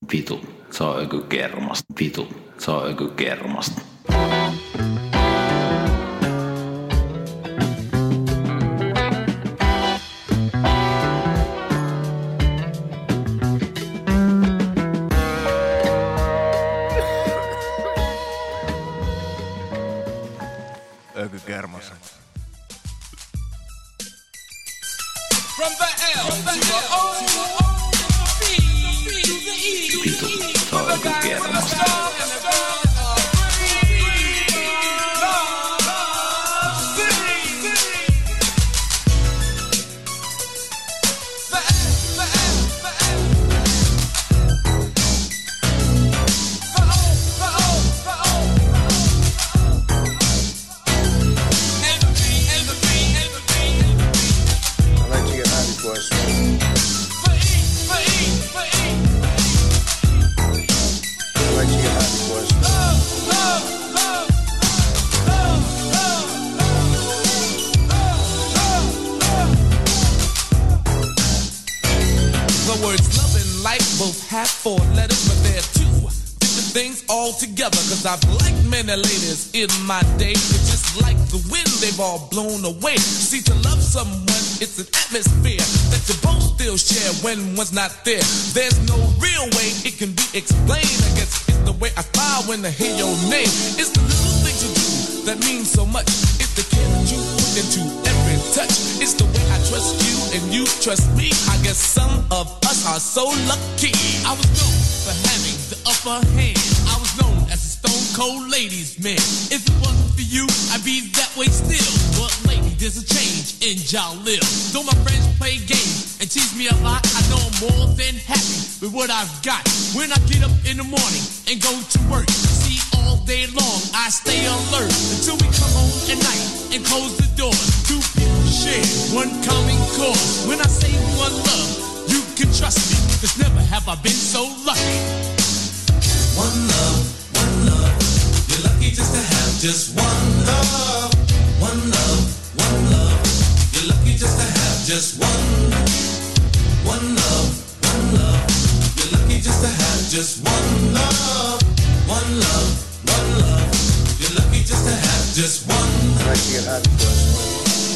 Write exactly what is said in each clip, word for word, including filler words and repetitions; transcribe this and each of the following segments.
Vitu, se on joku kermasta. Vitu, se on joku kermasta. Ökykermassa. From the L to the O to the B to the E. Vitu, se on joku kermasta. Have four letters, but they're two different things altogether. Cause I've liked many ladies in my day, but just like the wind, they've all blown away. See, to love someone, it's an atmosphere that you both still share when one's not there. There's no real way it can be explained. I guess it's the way I smile when I hear your name. It's the little things you do that mean so much. It's the care that you put into every touch. It's the way I trust you and you trust me. I guess some of us are so lucky. I was known for having the upper hand. I was known as a stone cold ladies man. If it wasn't for you, I'd be that way still. But lately there's a change in Jalil. Though my friends play games and tease me a lot, I know I'm more than happy with what I've got. When I get up in the morning and go to work, see, all day long I stay alert until we come home at night and close the door. Two people share one common cause. When I say one love, you can trust me, cause never have I been so lucky. One love, one love, you're lucky just to have just one love. One love, one love, you're lucky just to have just one. One love, one love, you're lucky just to have just one love. One love, one love, you're lucky just to have just one. I like to get happy first.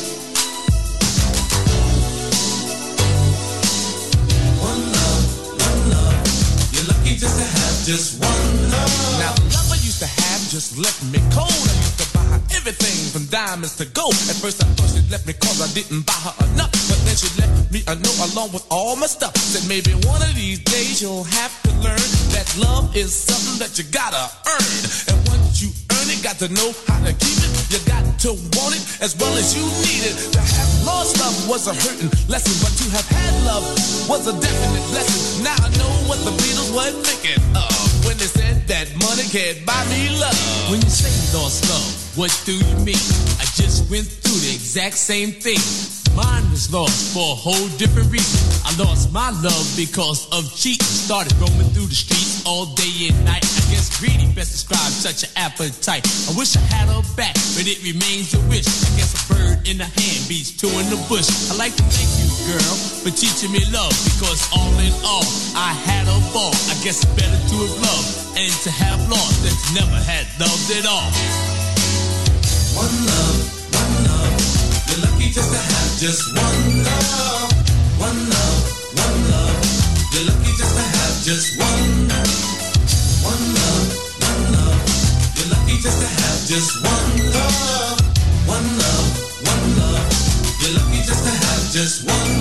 Just to have just one love. Now the love I used to have just left me cold. I used to buy her everything from diamonds to gold. At first I thought she left me cause I didn't buy her enough, but then she left me a note along with all my stuff. Said maybe one of these days you'll have to learn that love is something that you gotta earn. And once you earn it, got to know how to keep it. You got to want it as well as you need it. To have lost love was a hurting lesson, but to have had love was a definite blessing. Now I know what the Beatles were thinking of when they said that money can't buy me love. When you say lost love, what do you mean? I just went through the exact same thing. Mine was lost for a whole different reason. I lost my love because of cheating. Started roaming through the streets all day and night. I guess greedy best describes such an appetite. I wish I had her back, but it remains a wish. I guess a bird in the hand beats two in the bush. I like to thank you, girl, for teaching me love, because all in all, I had a ball. I guess it's better to have loved and to have lost than to never had loved at all. One love, one love, you're lucky just to have just one love. One love, one love, you're lucky just to have just one. One love, one love, you're lucky just to have just one love. One love, one love, you're lucky just to have just one.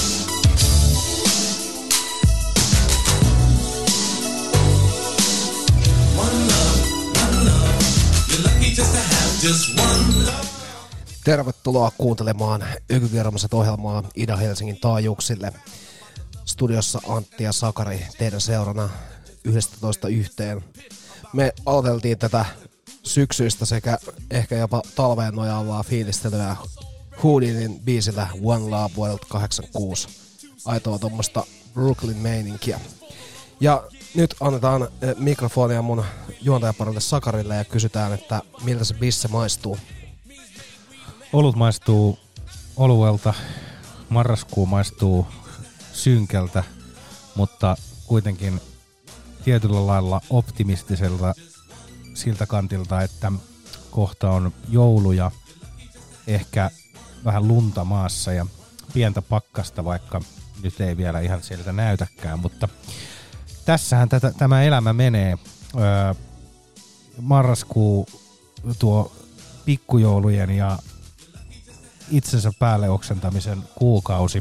One love, one love, you're lucky just to have just one love. Tervetuloa kuuntelemaan Ökykermaset ohjelmaa Ida-Helsingin taajuuksille. Studiossa Antti ja Sakari teidän seurana yhdestätoista yhteen. Me aloiteltiin tätä syksyistä sekä ehkä jopa talveen nojaavaa fiilistelyä Houdinin biisillä One Love vuodelta kahdeksankymmentäkuusi. Aitoa tuommoista Brooklyn-meininkiä. Ja nyt annetaan mikrofonia mun juontajaparille Sakarille ja kysytään, että miltä se bisse maistuu. Olut maistuu oluelta, marraskuu maistuu synkältä, mutta kuitenkin tietyllä lailla optimistiselta siltä kantilta, että kohta on joulu ja ehkä vähän lunta maassa ja pientä pakkasta, vaikka nyt ei vielä ihan sieltä näytäkään, mutta tässähän tätä, tämä elämä menee. Öö, marraskuu, tuo pikkujoulujen ja itsensä päälle oksentamisen kuukausi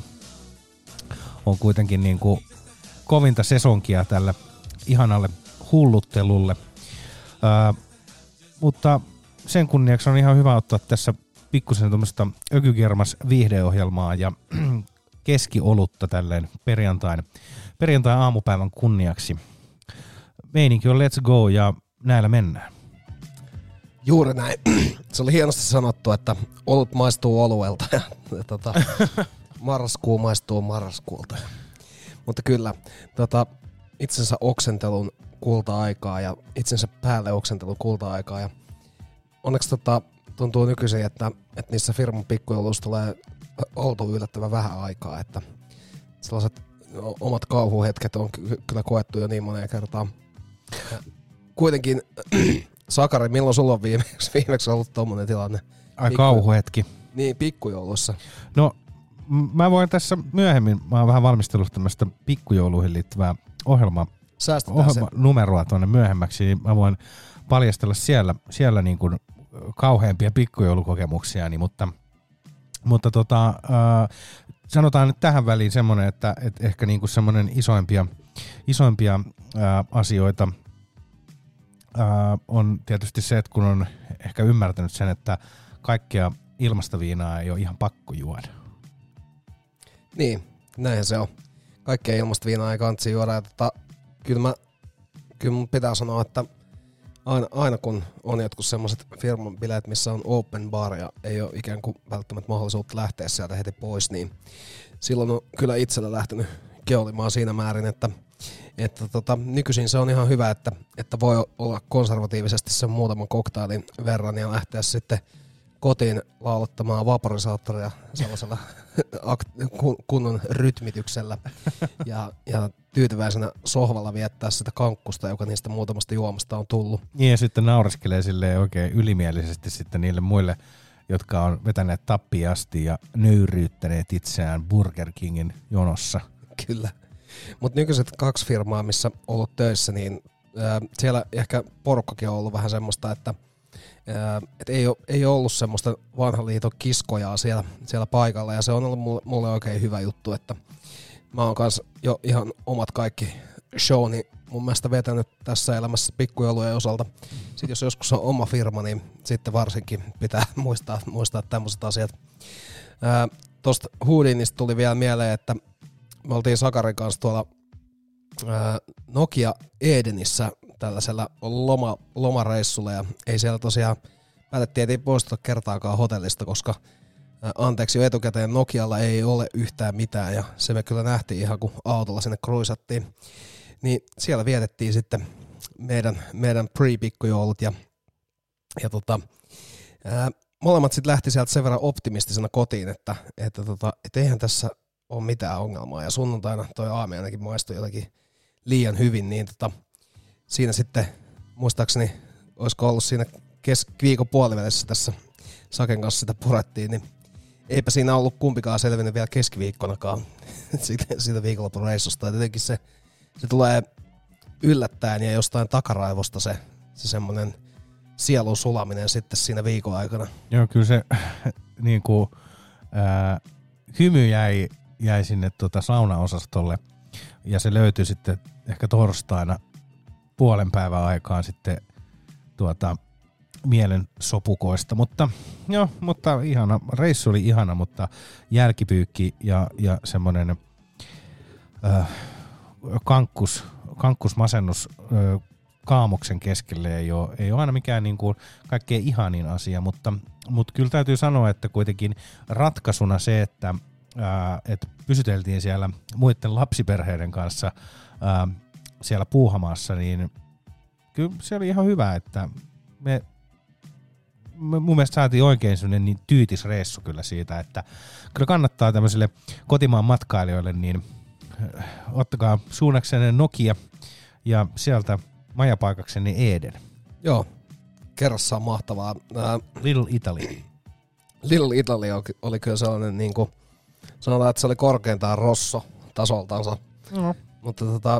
on kuitenkin niin kuin kovinta sesonkia tälle ihanalle hulluttelulle. Öö, mutta sen kunniaksi on ihan hyvä ottaa tässä pikkusen tuommoista ökykermas viihdeohjelmaa ja keskiolutta tälleen perjantain, perjantain aamupäivän kunniaksi. Meininki on let's go ja näillä mennään. Juuri näin. Se oli hienosti sanottu, että olut maistuu oluelta ja, ja tota, marraskuu maistuu marraskuulta. Mutta kyllä, tota, itsensä oksentelun kulta-aikaa ja itsensä päälle oksentelun kulta-aikaa. Ja onneksi tota, tuntuu nykyisin, että, että niissä firman pikkujouluissa tulee oltu yllättävän vähän aikaa. Että sellaiset omat kauhuhetket on ky- kyllä koettu jo niin moneen kertaan. Ja kuitenkin, Sakari, milloin sulla on viimeksi, viimeksi ollut tommonen tilanne? Ai Pikku... kauhuhetki. Niin, pikkujoulussa. No, m- mä voin tässä myöhemmin, mä oon vähän valmistellut tämmöistä pikkujouluihin liittyvää ohjelmaa. Ohjelmanumeroa tuonne myöhemmäksi, niin mä voin paljastella siellä, siellä niin kuin kauheampia pikkujoulukokemuksiani, mutta, mutta tota, äh, sanotaan nyt tähän väliin semmoinen, että, että ehkä niin kuin semmoinen isoimpia, isoimpia äh, asioita äh, on tietysti se, että kun on ehkä ymmärtänyt sen, että kaikkea ilmasta viinaa ei ole ihan pakko juoda. Niin, näinhän se on. Kaikkea ilmasta viinaa ei kansi juoda. Ja tota, kyllä, mä, kyllä mun pitää sanoa, että aina, aina kun on jotkut semmoiset firman bileet, missä on open bar ja ei ole ikään kuin välttämättä mahdollisuutta lähteä sieltä heti pois, niin silloin on kyllä itsellä lähtenyt keolimaan siinä määrin, että, että tota, nykyisin se on ihan hyvä, että, että voi olla konservatiivisesti sen muutaman koktailin verran ja lähteä sitten kotiin laulottamaan vaporisaattoria sellaisella kunnon rytmityksellä ja, ja tyytyväisenä sohvalla viettää sitä kankkusta, joka niistä muutamasta juomasta on tullut. Niin ja sitten naureskelee silleen oikein ylimielisesti sitten niille muille, jotka on vetäneet tappiin asti ja nöyryyttäneet itseään Burger Kingin jonossa. Kyllä. Mutta nykyiset kaksi firmaa, missä on ollut töissä, niin äh, siellä ehkä porukkakin on ollut vähän semmoista, että et ei, ole, ei ole ollut semmoista vanhan liiton kiskojaa siellä, siellä paikalla ja se on ollut mulle, mulle oikein hyvä juttu, että mä oon kanssa jo ihan omat kaikki showni mun mielestä vetänyt tässä elämässä pikkujoulujen osalta. Sitten jos joskus on oma firma, niin sitten varsinkin pitää muistaa, muistaa tämmöiset asiat. Ää, tosta Houdinista tuli vielä mieleen, että me oltiin Sakarin kanssa tuolla ää, Nokia Edenissä tällaisella loma, lomareissulla ja ei siellä tosiaan päätettiin, että ei poistuta kertaakaan hotellista, koska ää, anteeksi jo etukäteen Nokialla ei ole yhtään mitään ja se me kyllä nähtiin ihan kun autolla sinne kruisattiin. Niin siellä vietettiin sitten meidän, meidän pre-pikkujoulut ja, ja tota, ää, molemmat sitten lähti sieltä sen verran optimistisena kotiin, että, että tota, et eihän tässä ole mitään ongelmaa ja sunnuntaina toi aami ainakin maistui jotenkin liian hyvin, niin tota, siinä sitten muistaakseni olisiko ollut siinä kes- viikon puolivälissä tässä Saken kanssa sitä purettiin, niin eipä siinä ollut kumpikaan selvinnyt vielä keskiviikkonakaan siitä, siitä viikonlopun reissusta. Ja tietenkin se, se tulee yllättäen ja jostain takaraivosta se, se semmoinen sielun sulaminen sitten siinä viikon aikana. Joo, kyllä se niin kuin, ää, hymy jäi, jäi sinne tuota saunaosastolle ja se löytyi sitten ehkä torstaina puolen päivän aikaan sitten tuota mielen sopukoista, mutta joo, mutta ihana, reissu oli ihana, mutta jälkipyykki ja, ja semmoinen äh, kankkus, kankkusmasennus äh, kaamoksen keskelle ei ole, ei ole aina mikään niin kuin kaikkein ihanin asia, mutta, mutta kyllä täytyy sanoa, että kuitenkin ratkaisuna se, että, äh, että pysyteltiin siellä muiden lapsiperheiden kanssa äh, siellä Puuhamaassa, niin kyllä se oli ihan hyvä, että me, me mun mielestä saatiin oikein sellainen niin tyytisreissu kyllä siitä, että kyllä kannattaa tämmöisille kotimaan matkailijoille, niin ottakaa suunnaksenne Nokia Ja sieltä majapaikakseni Eden. Joo, kerrassaan mahtavaa. Ää, Little Italy. Little Italy oli, oli kyllä sellainen, niin kuin, sanotaan, että se oli korkeintaan rosso tasoltansa. No. Mutta tota,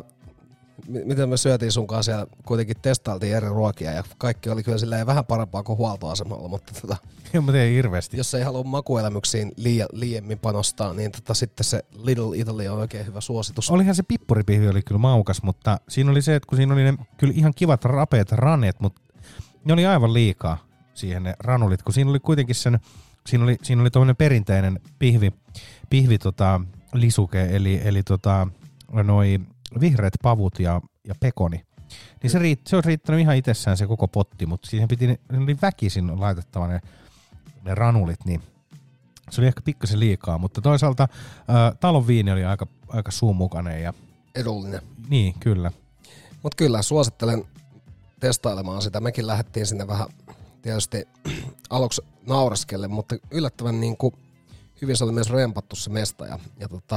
m- miten me syötiin sun kanssa siellä, kuitenkin testailtiin eri ruokia ja kaikki oli kyllä silleen vähän parempaa kuin huoltoasemalla, mutta tota, joo, mä tein hirveästi. Jos ei halua makuelämyksiin liia, liiemmin panostaa, niin tota, sitten se Little Italy on oikein hyvä suositus. Olihan se pippuripihvi oli kyllä maukas, mutta siinä oli se, että kun siinä oli ne kyllä ihan kivat rapeat raneet, mutta ne oli aivan liikaa siihen ne ranulit, kun siinä oli kuitenkin sen, siinä oli, siinä oli tommoinen perinteinen pihvi, pihvi tota, lisuke, eli, eli tota, noi vihreät pavut ja, ja pekoni. Niin se, riitt, se olisi riittänyt ihan itsessään se koko potti, mutta siihen piti, ne oli väkisin laitettava ne, ne ranulit, niin se oli ehkä pikkasen liikaa, mutta toisaalta ää, talon viini oli aika, aika suumukainen. Ja edullinen. Niin, kyllä. Mutta kyllä, suosittelen testailemaan sitä. Mekin lähdettiin sinne vähän tietysti aluksi nauraskelle, mutta yllättävän niin kuin hyvin se oli myös rempattu se mesta. Ja, ja tota,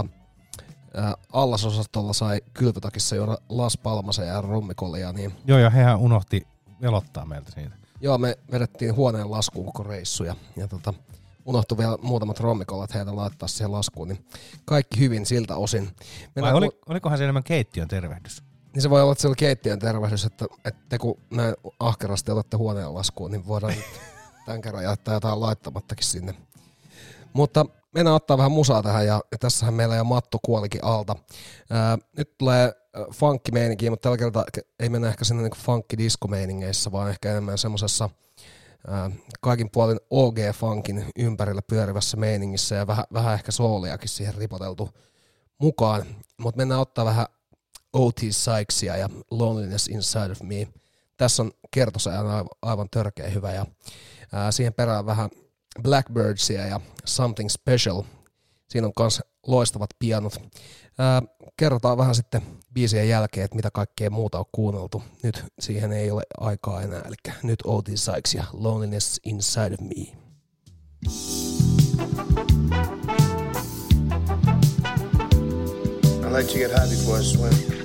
ää, allasosastolla sai kylpytakissa juoda Las Palmasia ja rummikolia. Niin joo, ja hehän unohti velottaa meiltä siitä. Joo, me vedettiin huoneen laskuun koko reissu ja, ja tota, unohtui vielä muutamat rommikolat heitä laittaa siihen laskuun, niin kaikki hyvin siltä osin. Vai oli, olikohan se enemmän keittiön tervehdys? Niin se voi olla, että se oli keittiön tervehdys, että, että te kun näin ahkerasti otatte huoneen laskuun, niin voidaan tämän kerran jättää jotain laittamattakin sinne. Mutta mennään ottaa vähän musaa tähän ja, ja tässähän meillä jo Matto kuolikin alta. Ää, nyt tulee funkkimeininkiä, mutta tällä kertaa ei mennä ehkä sinne niin funkki-disco-meiningeissä, vaan ehkä enemmän semmoisessa ää, kaikin puolin O G-funkin ympärillä pyörivässä meiningissä ja vähän, vähän ehkä sooliakin siihen ripoteltu mukaan. Mutta mennään ottaa vähän O T Sykesia ja Loneliness Inside of Me. Tässä on kertosäännö aivan, aivan törkeä hyvä ja ää, siihen perään vähän Blackbirdsia ja Something Special. Siinä on myös loistavat pianot. Ää, kerrotaan vähän sitten biisien jälkeen, että mitä kaikkea muuta on kuunneltu. Nyt siihen ei ole aikaa enää, eli nyt O T Sykes ja Loneliness Inside of Me. I like to get high before I swim.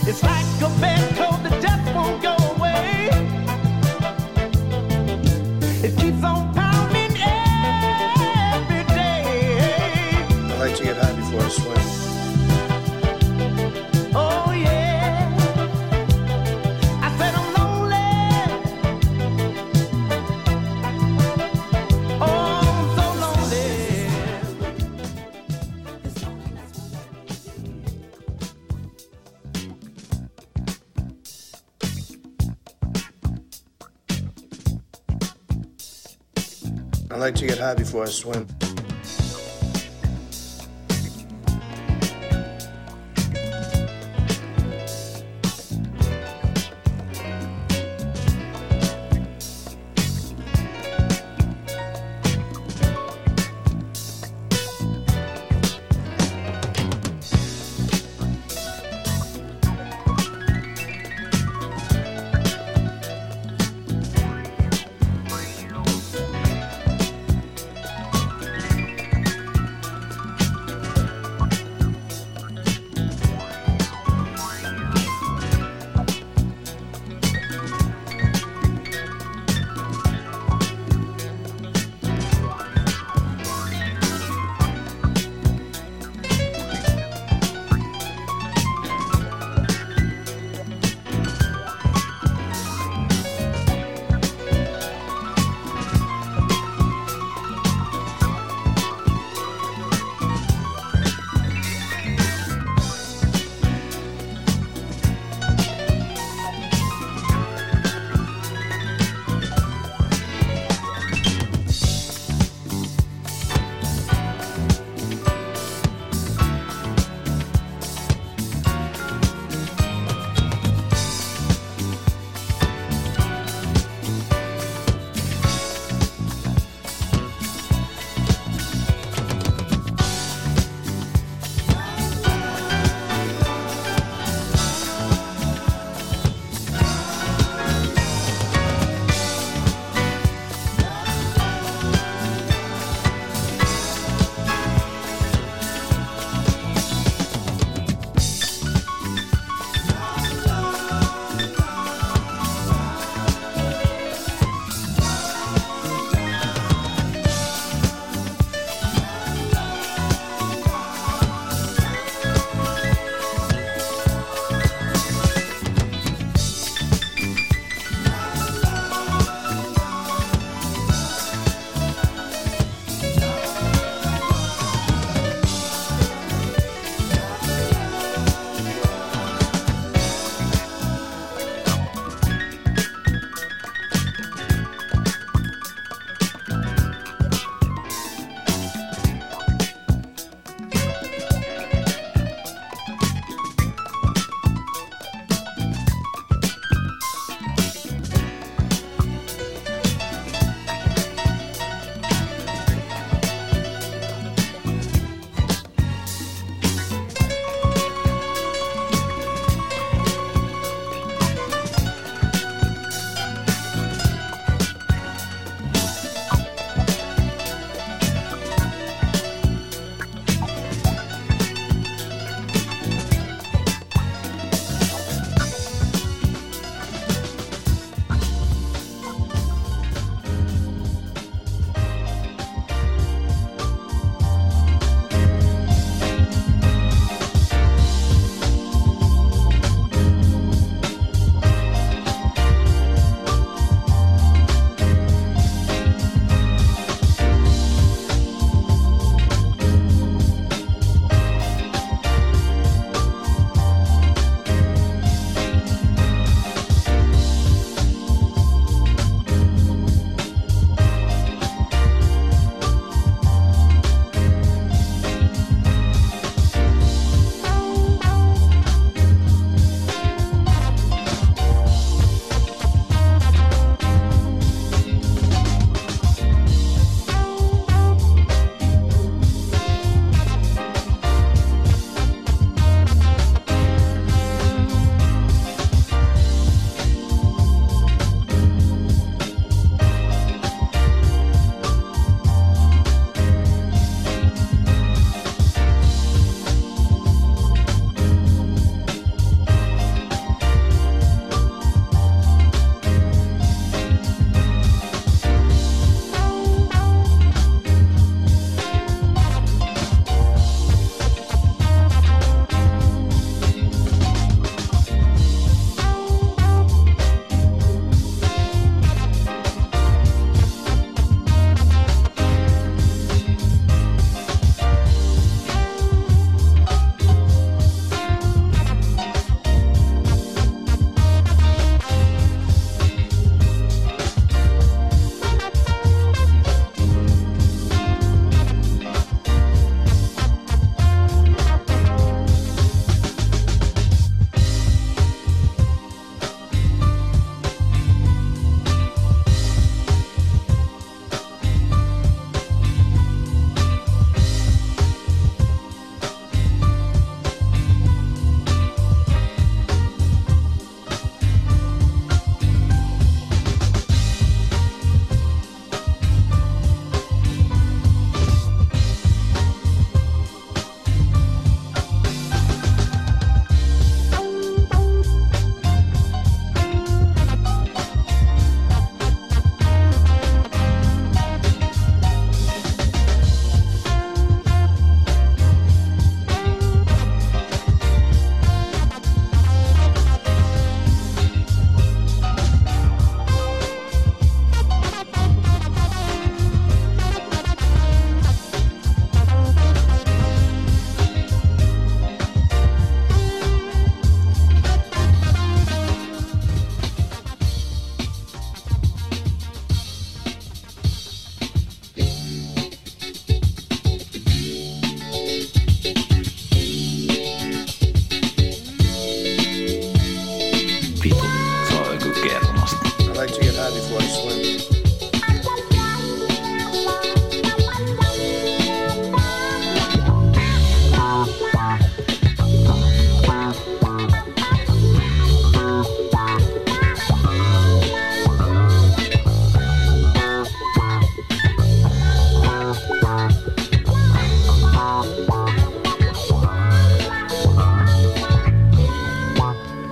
It's like a bad cold that just won't go away. It keeps on pounding every day. I like to get high before I swim. Oh yeah, I said I'm lonely. Oh, I'm so lonely. I like to get high before I swim.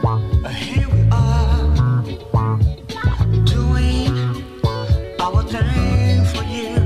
Here we are, doing our thing for you.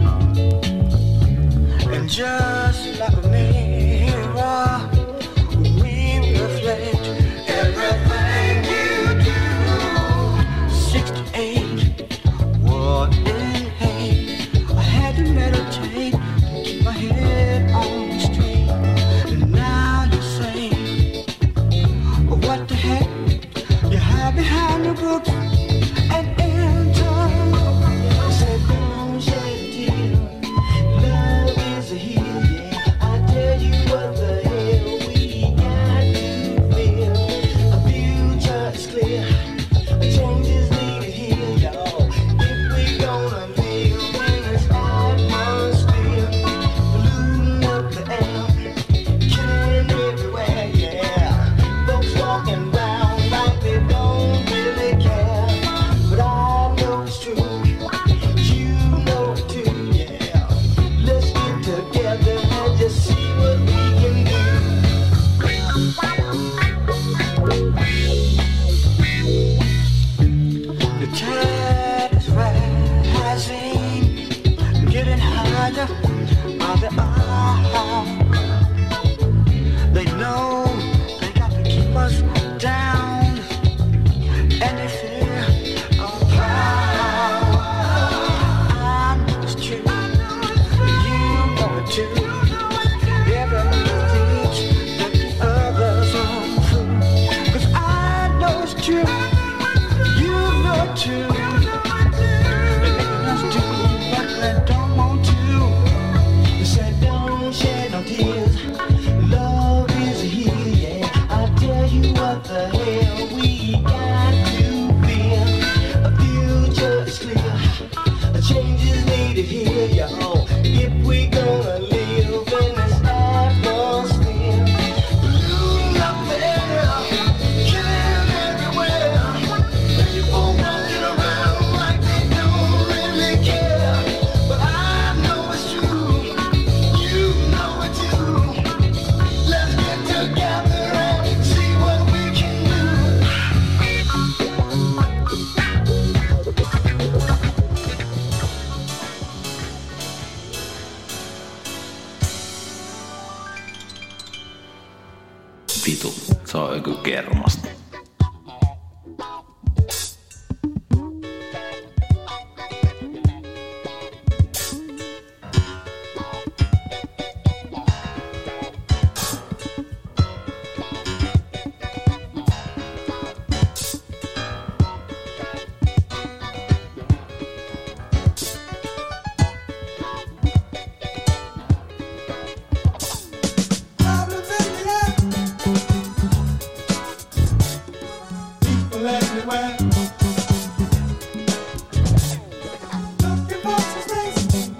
And just like a mirror, we reflect everything you do. Sixty-eight, what in hate? I had to meditate, keep my head on straight. And now you say, what the heck? You hide behind the book and enter. You said, don't shed a tear. Love is a heal, yeah. I tell you what the hell we got to feel. A future is clear. A change is needed here, y'all. If we gonna live in this atmosphere, polluting up the air, killing everywhere, yeah. Folks walking around like they don't really care. But I know it's true. You know it too, yeah. Let's get together and just see what we can do. The tide is rising, getting higher by the hour. They know they got to keep us down, and they fear our power. I know it's true, you know it too. Every mistake that the others are through, 'cause I know it's true, you know it too. They're making us do what they don't want to. They said don't shed no tears. Love is a heal, yeah. I tell you what the hell we got to feel. A future is clear. A change is needed here, y'all. If we gonna live in this atmosphere. Polluting up the air, killing everywhere. People walking around like they don't really care. But I know it's true. You know it too. Let's get together and see what we can do. Vitu, se on joku kermasta. People everywhere. Looking for some space.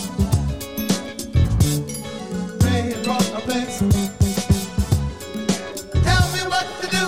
Pray from a place. Tell me what to do.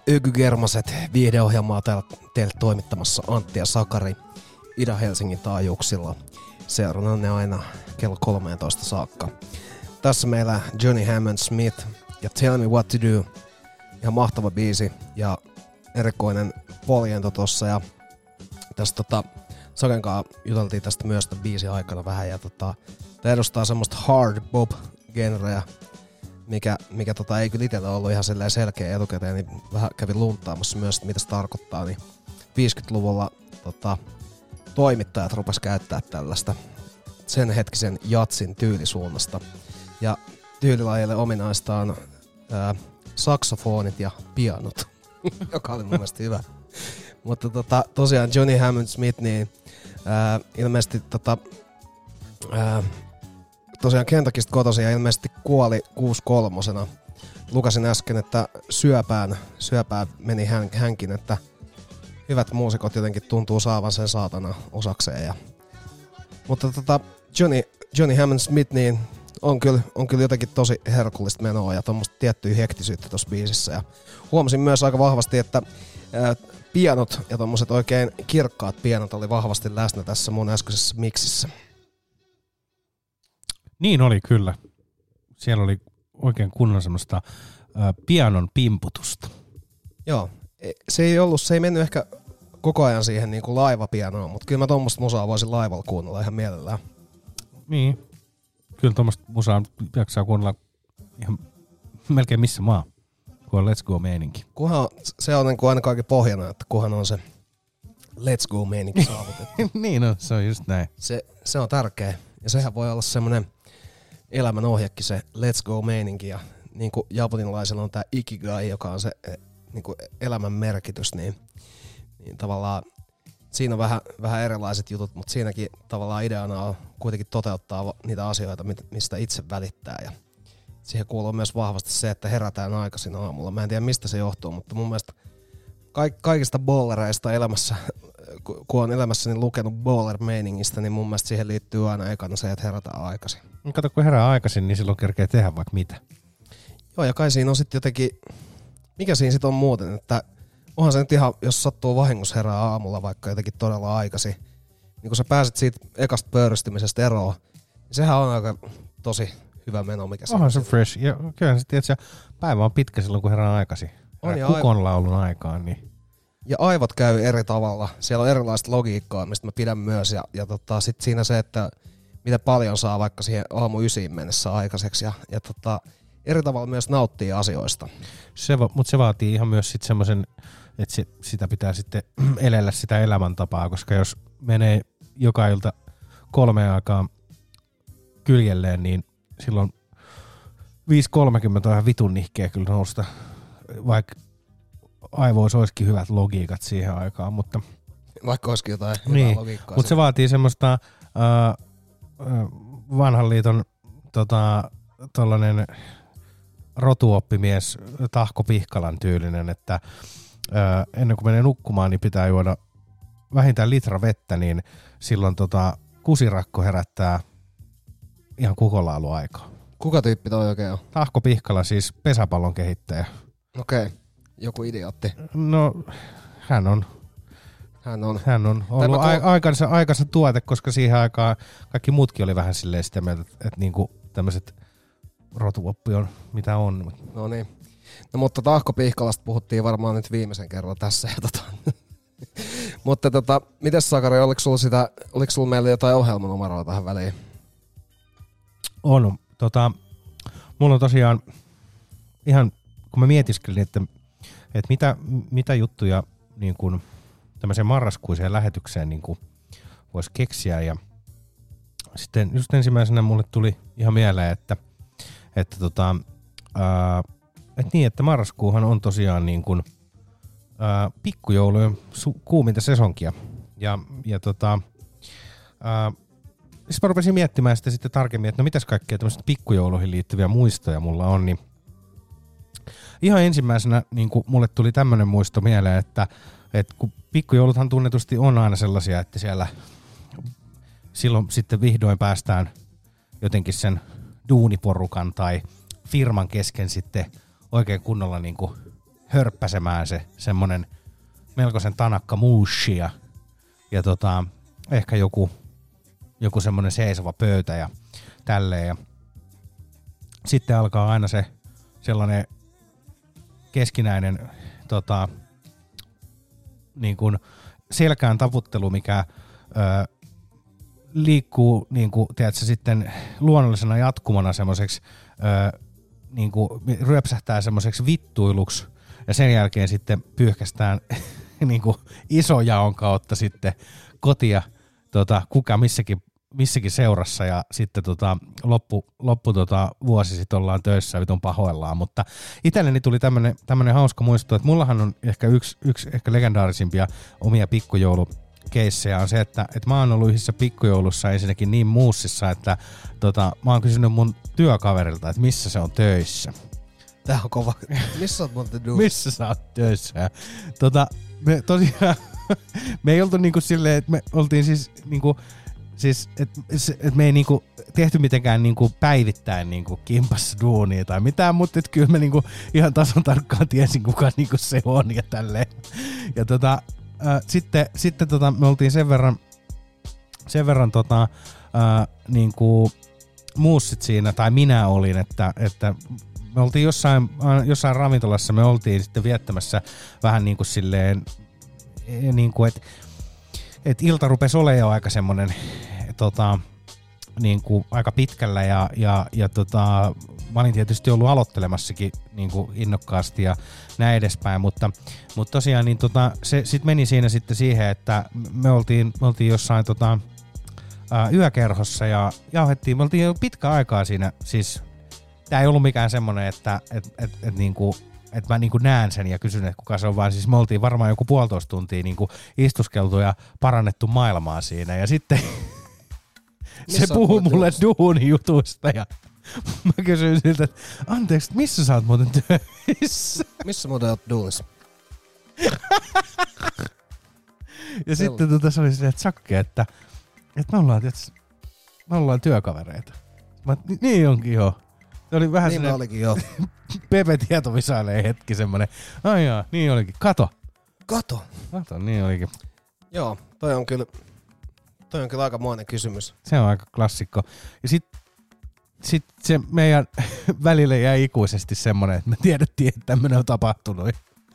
Ökygermaset viihdeohjelmaa täällä teille toimittamassa Antti ja Sakari Ida-Helsingin taajuuksilla. Seurannanne aina kello kolmetoista saakka. Tässä meillä Johnny Hammond Smith ja Tell Me What To Do. Ihan mahtava biisi ja erikoinen poljento tossa. Ja tästä tota, Sakenkaan juteltiin tästä myös tämän biisin aikana vähän. Ja tota, tää edustaa semmoista hard bop-genreä, mikä, mikä tota, ei kyllä itsellä ollut ihan selkeä etukäteen, niin vähän kävin luntaamassa myös, että mitä se tarkoittaa. Niin viisikymmentäluvulla tota, toimittajat rupes käyttää tällaista sen hetkisen jatsin tyylisuunnasta. Ja tyylilajille ominaista on ää, saksofonit ja pianot, joka oli mun mielestä hyvä. Mutta tota, tosiaan Johnny Hammond Smith, niin ää, ilmeisesti tota, ää, tosiaan Kentuckista kotoisin ja ilmeisesti kuoli kuusikymmentäkolmosena. Lukasin äsken, että syöpään, syöpään meni hän, hänkin, että hyvät muusikot jotenkin tuntuu saavan sen saatana osakseen. Ja, mutta tota, Johnny, Johnny Hammond Smith niin on kyllä, on kyllä jotenkin tosi herkullista menoa ja tuommoista tiettyä hektisyyttä tuossa biisissä. Ja huomasin myös aika vahvasti, että ää, pianot ja tommoset oikein kirkkaat pianot oli vahvasti läsnä tässä mun äskeisessä miksissä. Niin oli kyllä. Siellä oli oikein kunnon semmoista ää, pianon pimputusta. Joo. Se ei ollut, se ei mennyt ehkä koko ajan siihen niin kuin laivapianoon, mutta kyllä mä tommoista musaa voisin laivalla kuunnella ihan mielellään. Niin. Kyllä tommoista musaa jaksaa kuunnella ihan melkein missä maa, kun on Let's Go-meininki. Kunhan se on niin kuin aina kaiken pohjana, että kunhan on se Let's Go-meininki saavutettu. Niin on, se on just näin. Se, se on tärkeä. Ja sehän voi olla semmoinen elämän ohjekin se Let's Go-meininki. Ja niin kuin japanilaisella on tää Ikigai, joka on se niin kuin elämän merkitys, niin, niin tavallaan siinä on vähän, vähän erilaiset jutut, mutta siinäkin tavallaan ideana on kuitenkin toteuttaa niitä asioita, mistä itse välittää. Ja siihen kuuluu myös vahvasti se, että herätään aikaisin aamulla. Mä en tiedä mistä se johtuu, mutta mun mielestä kaikista bowlereista elämässä, kun on elämässäni lukenut bowler-meiningistä, niin mun mielestä siihen liittyy aina ekana se, että herätään aikaisin. Kato, kun herää aikaisin, niin silloin kerkee tehdä vaikka mitä. Joo, ja kai siinä on sitten jotenkin, mikä siinä sitten on muuten, että onhan se nyt ihan, jos sattuu vahingossa herää aamulla vaikka jotenkin todella aikaisin, niin kun sä pääset siitä ekasta pöyristymisestä eroon, niin sehän on aika tosi hyvä meno, mikä se on. Onhan se fresh. Ja kyllä sä tiedät, että päivä on pitkä silloin, kun herää aikaisin. On ja kukonlaulun aikaan. Niin. Ja aivot käy eri tavalla. Siellä on erilaista logiikkaa, mistä mä pidän myös. Ja, ja tota, sit siinä se, että miten paljon saa vaikka siihen aamu ysiin mennessä aikaiseksi. Ja, ja tota, eri tavalla myös nauttii asioista. Se, mutta se vaatii ihan myös sit semmoisen, että se, sitä pitää sitten elellä sitä elämäntapaa, koska jos menee joka ilta kolmeen aikaan kyljelleen, niin silloin viisi kolmekymmentä on ihan vitun nihkeä kyllä nousta, vaikka aivoissa olisikin hyvät logiikat siihen aikaan, mutta vaikka olisikin jotain niin, hyvää logiikkaa. Mutta se vaatii semmoista uh, uh, vanhan liiton tota, tollanen rotuoppimies Tahko Pihkalan tyylinen, että uh, ennen kuin menee nukkumaan, niin pitää juoda vähintään litra vettä, niin silloin tota, kusirakko herättää ihan kukonlauluaikaa. Kuka tyyppi toi oikein on? Tahko Pihkala, siis pesäpallon kehittäjä. Okei, okay. Joku idiootti. No, hän on. Hän on. Hän on ollut ko- a- aikansa, aikansa tuote, koska siihen aikaan kaikki muutkin oli vähän silleen sitä mieltä, että, että niinku tämmöiset rotuoppi on mitä on. No niin. No mutta Tahko Pihkalasta puhuttiin varmaan nyt viimeisen kerran tässä. Ja tota. Mutta tota, mites Sakari, oliko sulla, sitä, oliko sulla meillä jotain ohjelmanumeroa tähän väliin? On. Tota, mulla on tosiaan ihan, kun mä mietiskelin, että, että mitä, mitä juttuja niin kuin tämmöiseen marraskuiseen lähetykseen niin kuin voisi keksiä. Ja sitten just ensimmäisenä mulle tuli ihan mieleen, että, että, tota, ää, että niin, että marraskuuhan on tosiaan niin kuin, ää, pikkujoulujen su- kuuminta sesonkia. Ja, ja tota, ää, sitten mä rupesin miettimään sitä sitten tarkemmin, että no mitäs kaikkea tämmöistä pikkujouluihin liittyviä muistoja mulla on, niin ihan ensimmäisenä niin kuin mulle tuli tämmöinen muisto mieleen, että, että kun pikkujouluthan tunnetusti on aina sellaisia, että siellä silloin sitten vihdoin päästään jotenkin sen duuniporukan tai firman kesken sitten oikein kunnolla niin kuin hörppäsemään se semmonen melkoisen tanakka muushi ja, ja tota, ehkä joku, joku semmonen seisova pöytä ja tälleen. Ja sitten alkaa aina se sellainen keskinäinen tota, niin kuin selkään taputtelu, mikä ö, liikkuu niin kuin, tiedätkö, sitten luonnollisena jatkumona semmoiseksi, niin kuin ryöpsähtää semmoiseksi vittuiluksi ja sen jälkeen sitten pyyhkästään niin kuin isojaon kautta sitten kotia tota, kuka missäkin, missäkin seurassa ja sitten tota, loppu, loppu tota, vuosi sitten ollaan töissä vitun pahoillaan, mutta itselleni tuli tämmönen, tämmönen hauska muisto, että mullahan on ehkä yksi, yksi ehkä legendaarisimpia omia pikkujoulu keissejä on se, että, että mä oon ollut yhdessä pikkujoulussa ensinnäkin niin muussissa, että tota, mä oon kysynyt mun työkaverilta, että missä se on töissä. Tää on kova. Missä sä oot muuten duunissa? Missä sä oot töissä? Ja, tota, me tosiaan, me ei oltu niinku silleen, että me oltiin siis niinku, siis, että et me ei niinku tehty mitenkään niinku päivittäin niinku kimpassa duunia tai mitään, mutta et kyllä me niinku ihan tasan tarkkaan tiesin, kuka niinku se on ja tälleen. Ja tota, Äh, sitten sitten tota, me oltiin sen verran, sen verran tota, äh, niinku muussit siinä, tai minä olin, että, että me oltiin jossain, jossain ravintolassa, me oltiin sitten viettämässä vähän niin kuin silleen, niin kuin, että et ilta rupesi olemaan jo aika semmoinen tota, niin kuin aika pitkällä ja, ja, ja tota, mä olin tietysti ollut aloittelemassakin niin kuin innokkaasti ja näin edespäin, mutta, mutta tosiaan niin tota, se sitten meni siinä sitten siihen, että me oltiin, me oltiin jossain tota, ää, yökerhossa ja jauhettiin, me oltiin jo pitkä aikaa siinä, siis tää ei ollut mikään semmonen, että et, et, et, niinku, et mä niinku näen sen ja kysyn, että kuka se on, vaan siis me oltiin varmaan joku puolitoista tuntia niinku istuskeltu ja parannettu maailmaa siinä ja sitten se puhuu mulle duunijutuista ja mä kysyin siltä, että anteeksi, missä sä oot muuten töissä? Missä muuten oot duunissa? Ja sitten tota, se oli silleen, että Sakke, että, että me, ollaan, tietysti, me ollaan työkavereita. Mä, niin onkin joo. Se oli vähän niin olikin joo. Pepe tietovisailee hetki semmonen. Ai jaa, niin olikin. Kato. Kato. Kato, niin olikin. Joo, toi on kyllä, toi on kyllä aikamoinen kysymys. Se on aika klassikko. Ja sit, sit se meidän välille jäi ikuisesti semmonen, että me tiedettiin, että tämmönen on tapahtunut.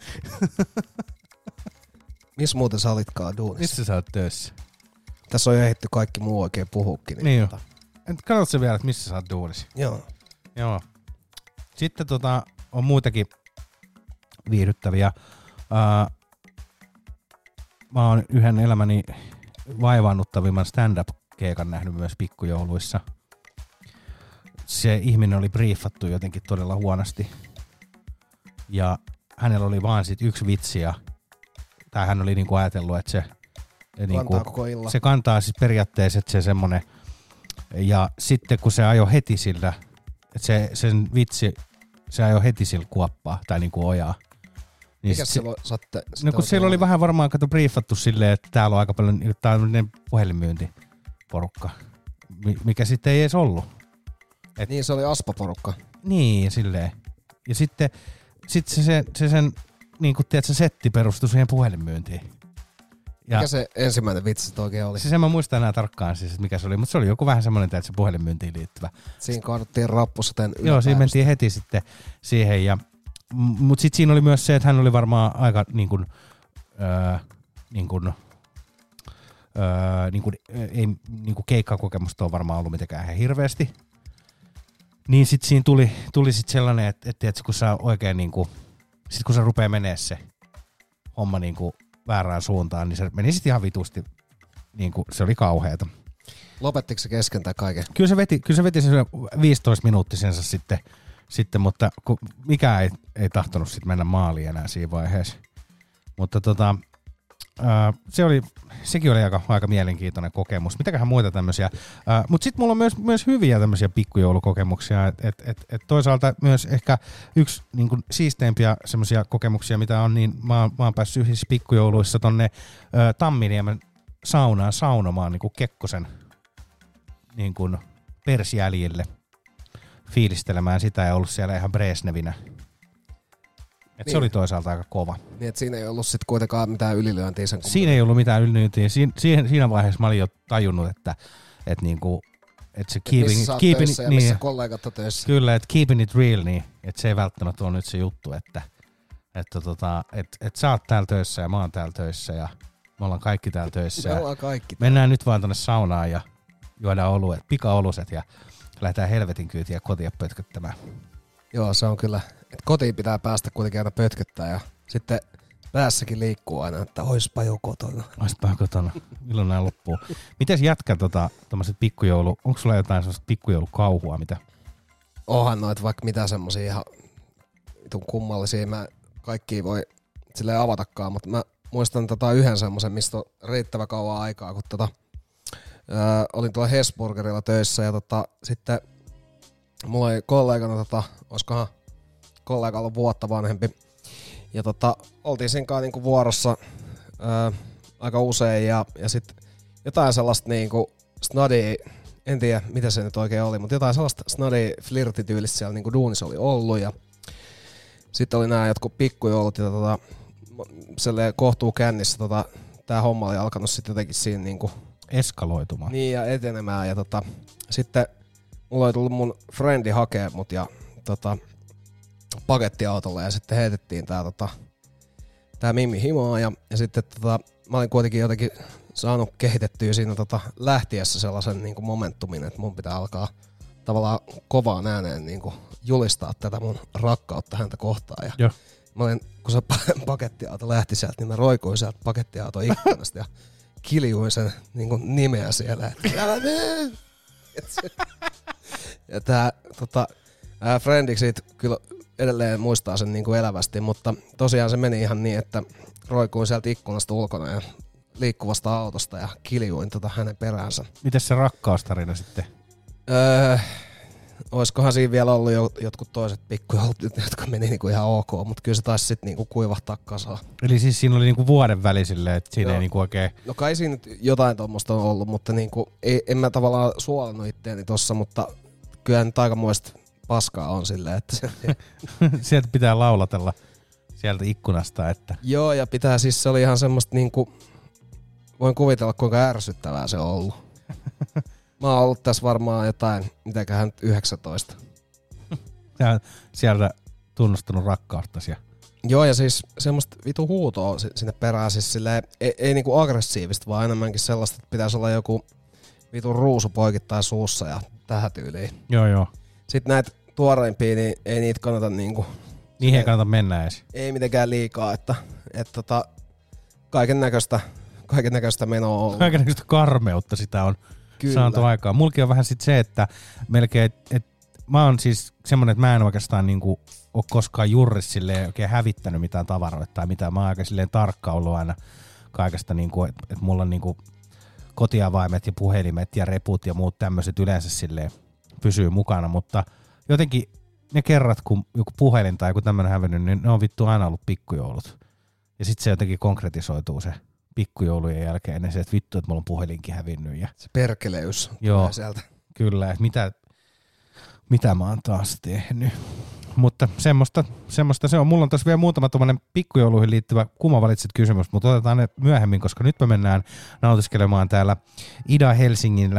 Missä muuten sä olitkaan duunissa? Missä sä oot töissä? Tässä on jo ehditty kaikki muu oikein puhukin. Niin, niin jo. Katsotko sä vielä, että missä sä oot duunissa? Joo. Joo. Sitten tota, on muitakin viihdyttäviä. Uh, mä oon yhden elämäni vaivaannuttavimman stand-up-keikan nähnyt myös pikkujouluissa. Se ihminen oli briefattu jotenkin todella huonosti. Ja hänellä oli vaan sit yksi vitsi ja tai hän oli niinku ajatellut, että se niinku, koko illan. Se kantaa siis periaatteessa, että se semmonen ja sitten kun se ajoi heti sillä, että se, sen vitsi, se ajoi heti sillä kuoppaa tai niinku ojaa. Niin mikäs se, silloin satte? No kun siellä oli vähän varmaan kato briefattu silleen, että täällä on aika paljon, tää on puhelinmyyntiporukka, mikä sitten ei edes ollut. Et, niin se oli aspaporukka. Niin silleen. Ja sitten sit se, se, se sen niin kuin tiedät, se setti perustui siihen puhelinmyyntiin. Ja mikä se ensimmäinen vitsi oikein oli? Siis en mä muista enää tarkkaan siis, mikä se oli, mutta se oli joku vähän semmoinen, että se puhelinmyyntiin liittyvä. Siinä kaaduttiin rappusateen yläpäästä. Joo, siinä mentiin heti sitten siihen. Ja, mutta sitten siinä oli myös se, että hän oli varmaan aika niin kuin, öö, niin kuin, öö, niin kuin, ei niin kuin keikkakokemusta on varmaan ollut mitenkään ihan hirveästi. Niin sitten siinä tuli, tuli sit sellainen, että, että, että kun sä oikein niinku, sit kun sä rupee menee se homma niinku väärään suuntaan, niin se meni sit ihan vitusti, niinku se oli kauheeta. Lopettiko se kesken tai kaiken? Kyllä se veti, kyllä se veti sen viisitoista minuuttisensa sitten, sitten mutta kun mikään ei, ei tahtonut sit mennä maaliin enää siinä vaiheessa. Mutta tota, ää, se oli, sekin oli aika, aika mielenkiintoinen kokemus. Mitäköhän muita tämmöisiä. Mutta sitten mulla on myös, myös hyviä tämmöisiä pikkujoulukokemuksia. Et, et, et, et toisaalta myös ehkä yksi niin kuin siisteimpiä semmoisia kokemuksia, mitä on, niin mä oon, mä oon päässyt yhdessä pikkujouluissa tonne ä, Tamminiemen saunaan saunomaan niin kuin Kekkosen niin kuin persjäljille fiilistelemään sitä ja ollut siellä ihan Brezhnevinä. Et niin. Se oli toisaalta aika kova. Niin, että siinä ei ollut sit kuitenkaan mitään ylilyöntiä sen. Siinä ei ollut mitään ylilyöntiä. Siin, siihen, siinä vaiheessa mä olin jo tajunnut, että et niinku, et se keeping, missä sä oot keeping, töissä ja niin, missä kollegat on töissä. Kyllä, että keeping it real, niin että se ei välttämättä ole nyt se juttu, että että tota, et, et sä oot täällä töissä ja mä oon täällä töissä ja me ollaan kaikki täällä töissä. Me ollaan kaikki. Mennään nyt vaan tonne saunaan ja juodaan oluet, pika-oluset ja lähdetään helvetin kyytiä kotia pötköttämään. Joo, se on kyllä. Et kotiin pitää päästä kuitenkin aina pötköttää ja sitten päässäkin liikkuu aina, että oispa jo kotona. Oispa jo kotona. Milloin nää loppuu? Mites jätkä tota, tommoset pikkujoulu, onko sulla jotain semmoista pikkujoulukauhua, mitä? Onhan noit vaikka mitä semmosia ihan vitun kummallisia. Mä kaikkia voi silleen avatakaan, mutta mä muistan tota yhden semmosen, mistä on riittävä kauan aikaa, kun tota, öö, olin tuolla Hesburgerilla töissä ja tota, sitten mulla oli kollegana, tota, olisikohan kollega ollut vuotta vanhempi, ja tota, oltiin siinä kanssa niinku vuorossa öö, aika usein ja, ja sitten jotain sellaista niinku snadia, en tiedä mitä se nyt oikein oli, mutta jotain sellaista snadia flirtityylistä siellä niinku duunissa oli ollut ja sitten oli nämä jotkut pikkujoulut ja tota, kohtuu kännissä tota, tää homma oli alkanut sitten jotenkin siinä niinku eskaloitumaan. Niin ja etenemään ja tota, sitten mulla oli tullut mun friendi hakee mut ja tota, pakettiautolle ja sitten heitettiin tää, tota, tää Mimmi himaan ja, ja sitten tota, mä olin kuitenkin jotenkin saanut kehitettyä siinä tota, lähtiessä sellaisen niinku momentumin, että mun pitää alkaa tavallaan kovaan ääneen niinku julistaa tätä mun rakkautta häntä kohtaan. Ja Joo. mä olin, kun se pakettiauto lähti sieltä, niin mä roikuin sieltä pakettiauto ikkunasta ja kiljuin sen niinku nimeä siellä. Ja tää tota, ää, friendiksi siitä kyllä edelleen muistaa sen niinku elävästi, mutta tosiaan se meni ihan niin, että roikuin sieltä ikkunasta ulkona ja liikkuvasta autosta ja kiljuin tota hänen peräänsä. Mites se rakkaustarina sitten? Öö, oiskohan siinä vielä ollut jo, jotkut toiset pikkujoulut, jotka meni niinku ihan ok, mutta kyllä se taisi sitten niinku kuivahtaa kasaan. Eli siis siinä oli niinku vuoden väli silleen, että siinä Joo. ei niinku oikein... No kai siinä nyt jotain tuommoista on ollut, mutta niinku, ei, en mä tavallaan suolannut itteeni tossa, mutta kyllä nyt aikamoista paskaa on silleen, että se... Sieltä pitää laulatella sieltä ikkunasta, että... Joo, ja pitää siis, se oli ihan semmoista niinku... Voin kuvitella, kuinka ärsyttävää se on ollut. Mä oon ollut tässä varmaan jotain, mitäköhän nyt yhdeksäntoista. Sä sieltä tunnustanut rakkaustasi. Joo, ja siis semmoista vitu huutoa sinne perään, siis silleen, ei, ei niinku aggressiivista, vaan enemmänkin sellaista, että pitäisi olla joku vitu ruusu poikittain suussa ja tähän tyyliin. Joo, joo. Sitten näitä tuoreimpia, niin ei niitä kannata niinku... Niihin ei kannata mennä edes. Ei mitenkään liikaa, että et tota, kaiken näköistä kaiken näköistä menoa on ollut. Kaiken näköistä karmeutta sitä on Kyllä. saanut aikaan. Mulki on vähän sit se, että melkein, että et, mä oon siis semmonen, että mä en oikeastaan niinku ole koskaan juuris silleen oikein hävittänyt mitään tavaroita tai mitään. Mä oon aika silleen tarkka ollut aina kaikesta, niinku, että et mulla on niinku kotiavaimet ja puhelimet ja reput ja muut tämmöiset yleensä silleen pysyy mukana, mutta jotenkin ne kerrat, kun joku puhelin tai joku tämmönen hävennyt, niin ne on vittu aina ollut pikkujoulut. Ja sit se jotenkin konkretisoituu se pikkujoulujen jälkeen ennen se, että vittu, että mulla on puhelinkin hävinnyt. Ja se perkeleys joo, sieltä. Kyllä, että mitä, mitä mä oon taas tehnyt. Mutta semmoista, semmoista se on. Mulla on tässä vielä muutama tommonen pikkujouluihin liittyvä kuma valitset kysymys, mutta otetaan ne myöhemmin, koska nyt me mennään nautiskelemaan täällä Ida Helsingillä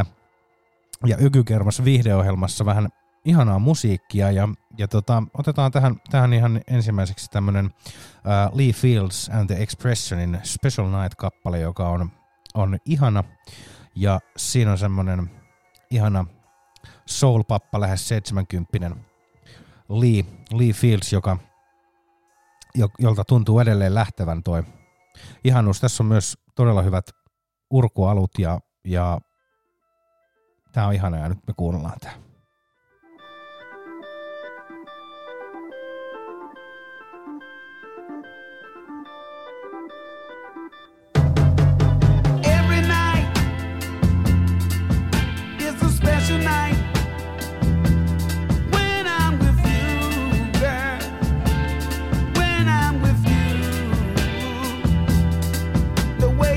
ja Ykykermassa viihdeohjelmassa vähän ihanaa musiikkia ja, ja tota, otetaan tähän, tähän ihan ensimmäiseksi tämmönen uh, Lee Fields and the Expressionin Special Night-kappale, joka on, on ihana ja siinä on semmonen ihana soul-pappa lähes seitsemänkymppinen Lee, Lee Fields, joka, jolta tuntuu edelleen lähtevän toi ihanuus. Tässä on myös todella hyvät urkualut ja, ja tää on ihana ja nyt me kuunnellaan tää.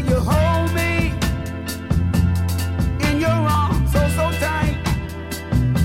In your arms, so so tight.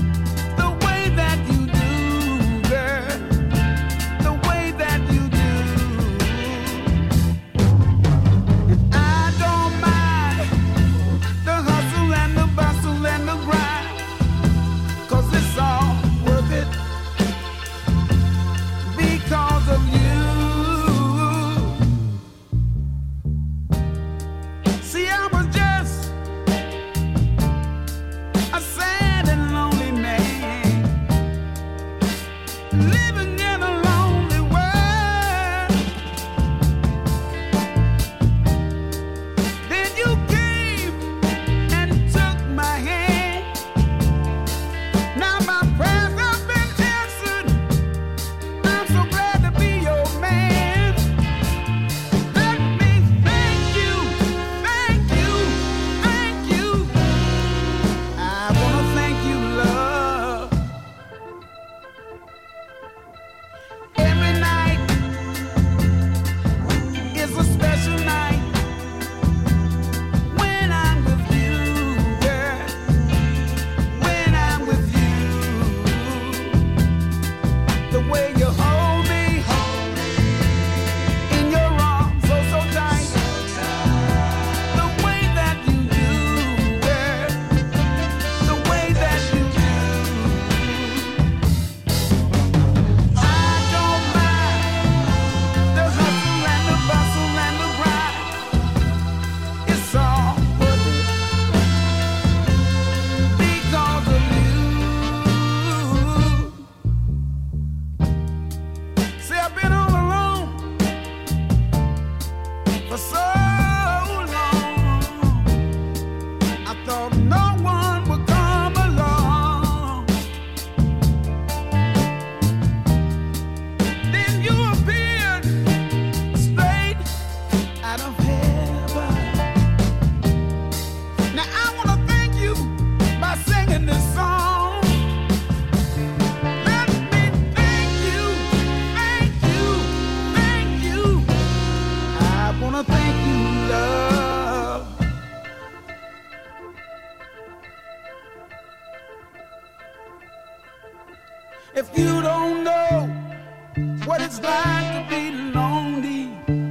If you don't know what it's like to be lonely,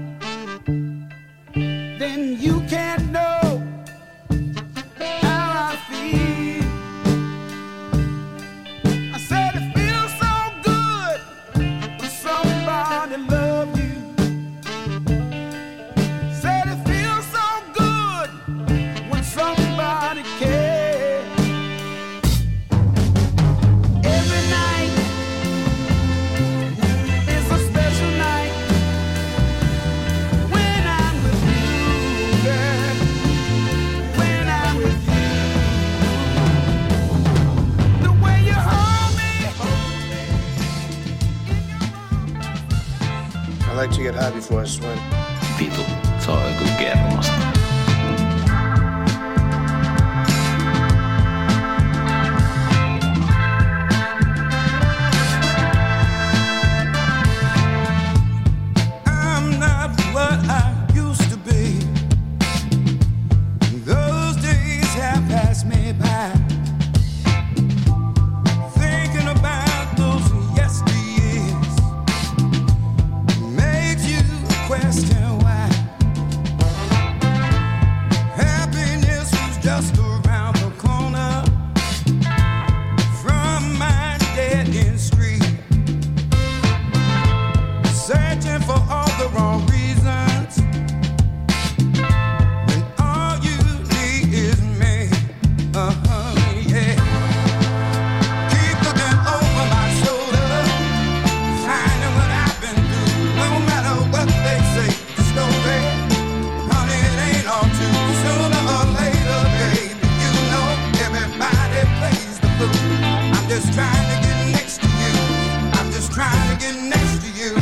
then you can't know how I feel. I said it feels so good when somebody loves you. Said it feels so good when somebody cares. I like to get high before I swim. Vitu, se on joku kermasta. I'm not what I used to be. Those days have passed me by. Thinking about those yesteryears makes you question why. Happiness was just around the corner from my dead-end street. Searching for all the wrong reasons when all you need is me. Uh-huh, yeah. Keep looking over my shoulder, finding what I've been through. No matter what they say, the story, honey, it ain't all true. Sooner or later, baby, you know everybody plays the fool. I'm just trying to get next to you. I'm just trying to get next to you.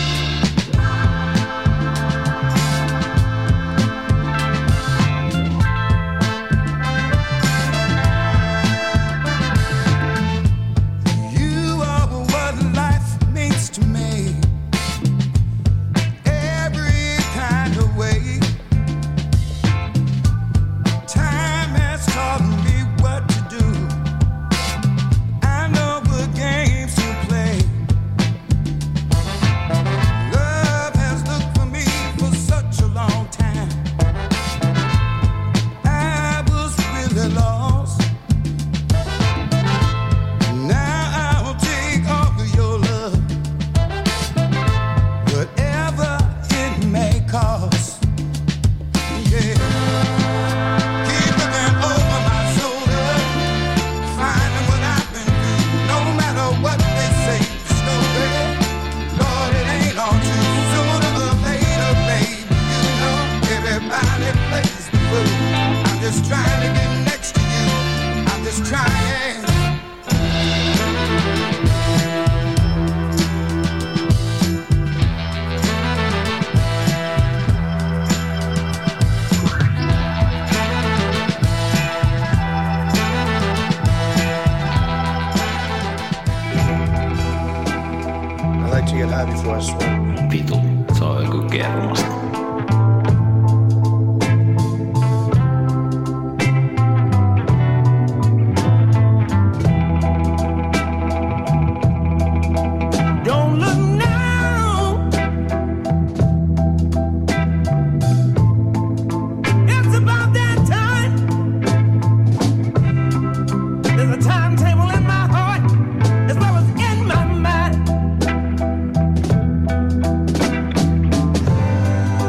You are what life means to me. Every kind of way. Time has taught me what to do. I know what games to play. Love has looked for me for such a long time. I was really lost. Now I'll take all of your love, whatever it may cost. Yeah. Keep looking over my shoulder, finding what I've been through. No matter what they say, the story, Lord, it ain't all true. Sooner or later, baby, you know everybody plays the fool. I'm just trying to get next to you. I'm just trying. I like to get high before I swim. Vitu, se on joku kermasta. Don't look now. It's about that time. There's a timetable in my heart as well as in my mind.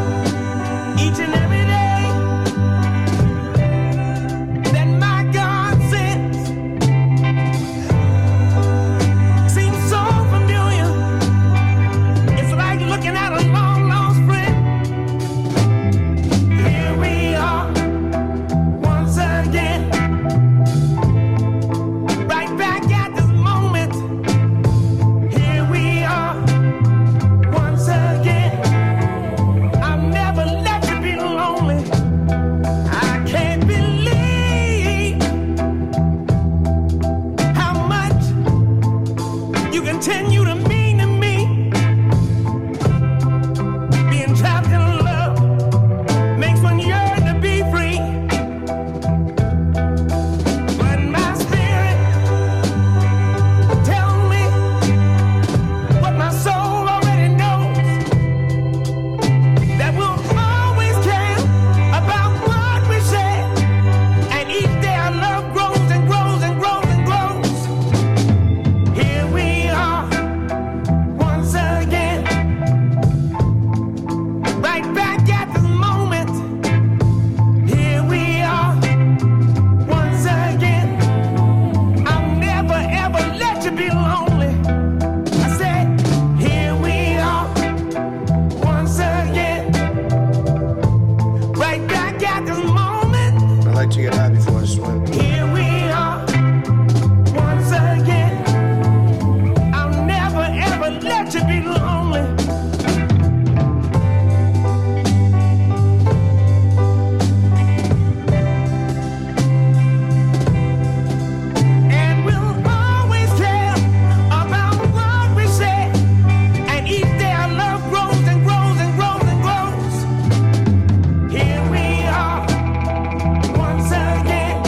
like to get high before I swim. Here we are, once again. I'll never ever let you be lonely. And we'll always care about what we say. And each day our love grows and grows and grows and grows. Here we are, once again.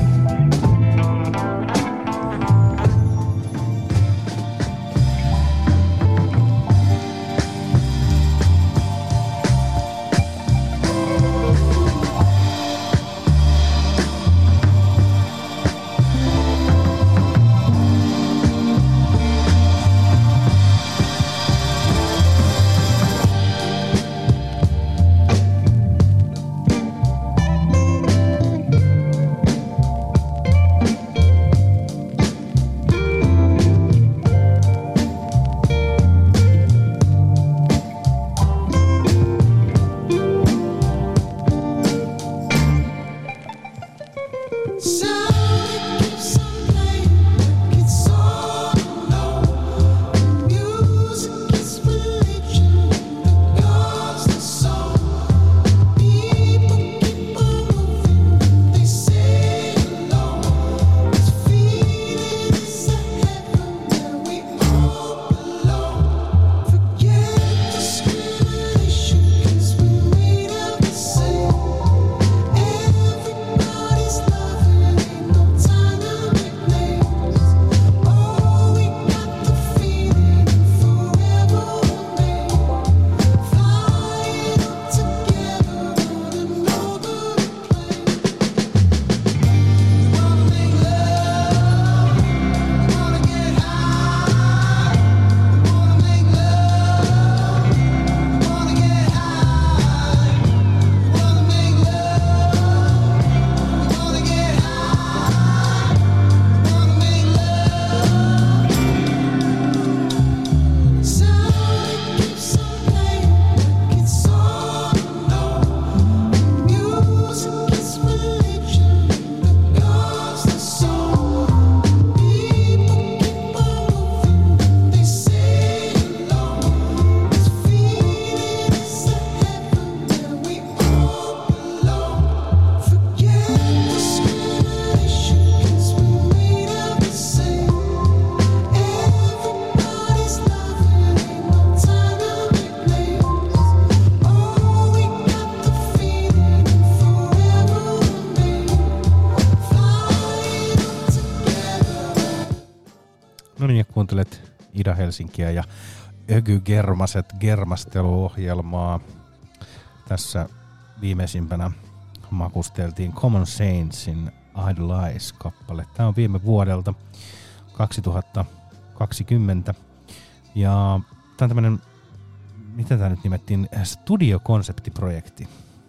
No niin, ja kuuntelet Ida-Helsinkiä ja Öky Germaset germasteluohjelmaa. Tässä viimeisimpänä makusteltiin Common Saintsin Idolize-kappale. Tämä on viime vuodelta kaksituhattakaksikymmentä. Ja tämä on tämmöinen, miten tämä nyt nimettiin, studiokonseptiprojekti.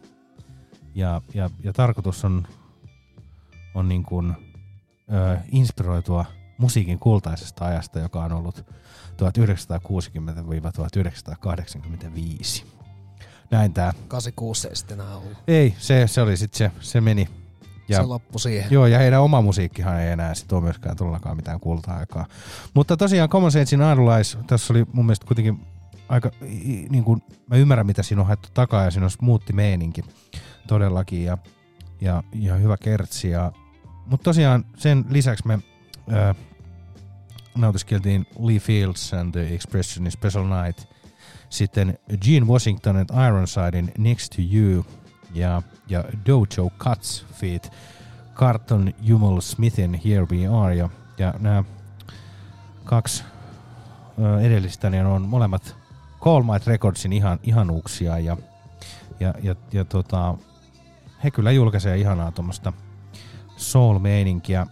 Ja, ja, ja tarkoitus on, on niin kuin, ö, inspiroitua musiikin kultaisesta ajasta, joka on ollut tuhatyhdeksänsataakuusikymmentä tuhatyhdeksänsataakahdeksankymmentäviisi. Näin tää. kahdeksankymmentäkuusi ei sitten enää ollut. Ei, se, se oli sitten se, se meni. Ja, se loppui siihen. Joo, ja heidän oma musiikkihan ei enää sit ole myöskään todellakaan mitään kulta-aikaa. Mutta tosiaan Common Saintsin Idolize, tässä oli mun mielestä kuitenkin aika, niin kuin, mä ymmärrän mitä siinä on haettu takaa ja siinä on smoothi meininki todellakin ja, ja, ja hyvä kertsi. Mutta tosiaan sen lisäksi me äh, nautiskeltiin Lee Fields and the Expression in Special Night, sitten Gene Washington and Ironsidein Next to You ja, ja Dojo Cuts feat. Carlton Jumel Smithin Here We Are ja, ja nämä kaksi ö, edellistä niin on molemmat Call Might Recordsin ihan, ihanuuksia ja, ja, ja, ja tota, he kyllä julkaisee ihanaa tuommoista soul-meininkiä.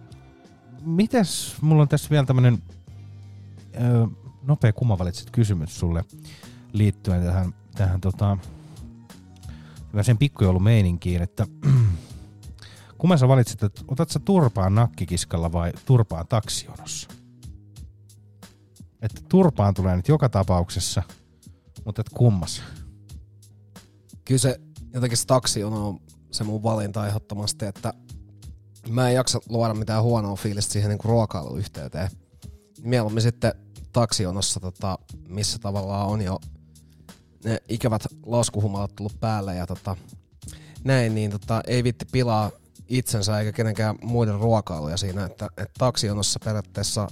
Mites, mulla on tässä vielä tämmönen ö, nopea kummavalitset kysymys sulle liittyen tähän, tähän tota, sen pikkujoulumeininkiin, että kumman sä valitsit, että otat sä turpaan nakkikiskalla vai turpaan taksijonossa? Että turpaan tulee nyt joka tapauksessa, mutta et kummas? Kyllä se jotenkin se taksijono on se mun valinta ehdottomasti, että mä en jaksa luoda mitään huonoa fiilistä siihen niin kuin ruokailuyhteyteen. Mieluummin sitten taksijonossa, tota, missä tavallaan on jo ne ikävät laskuhumalat tullut päälle ja tota, näin, niin tota, ei vitti pilaa itsensä eikä kenenkään muiden ruokailuja siinä, että, että taksijonossa periaatteessa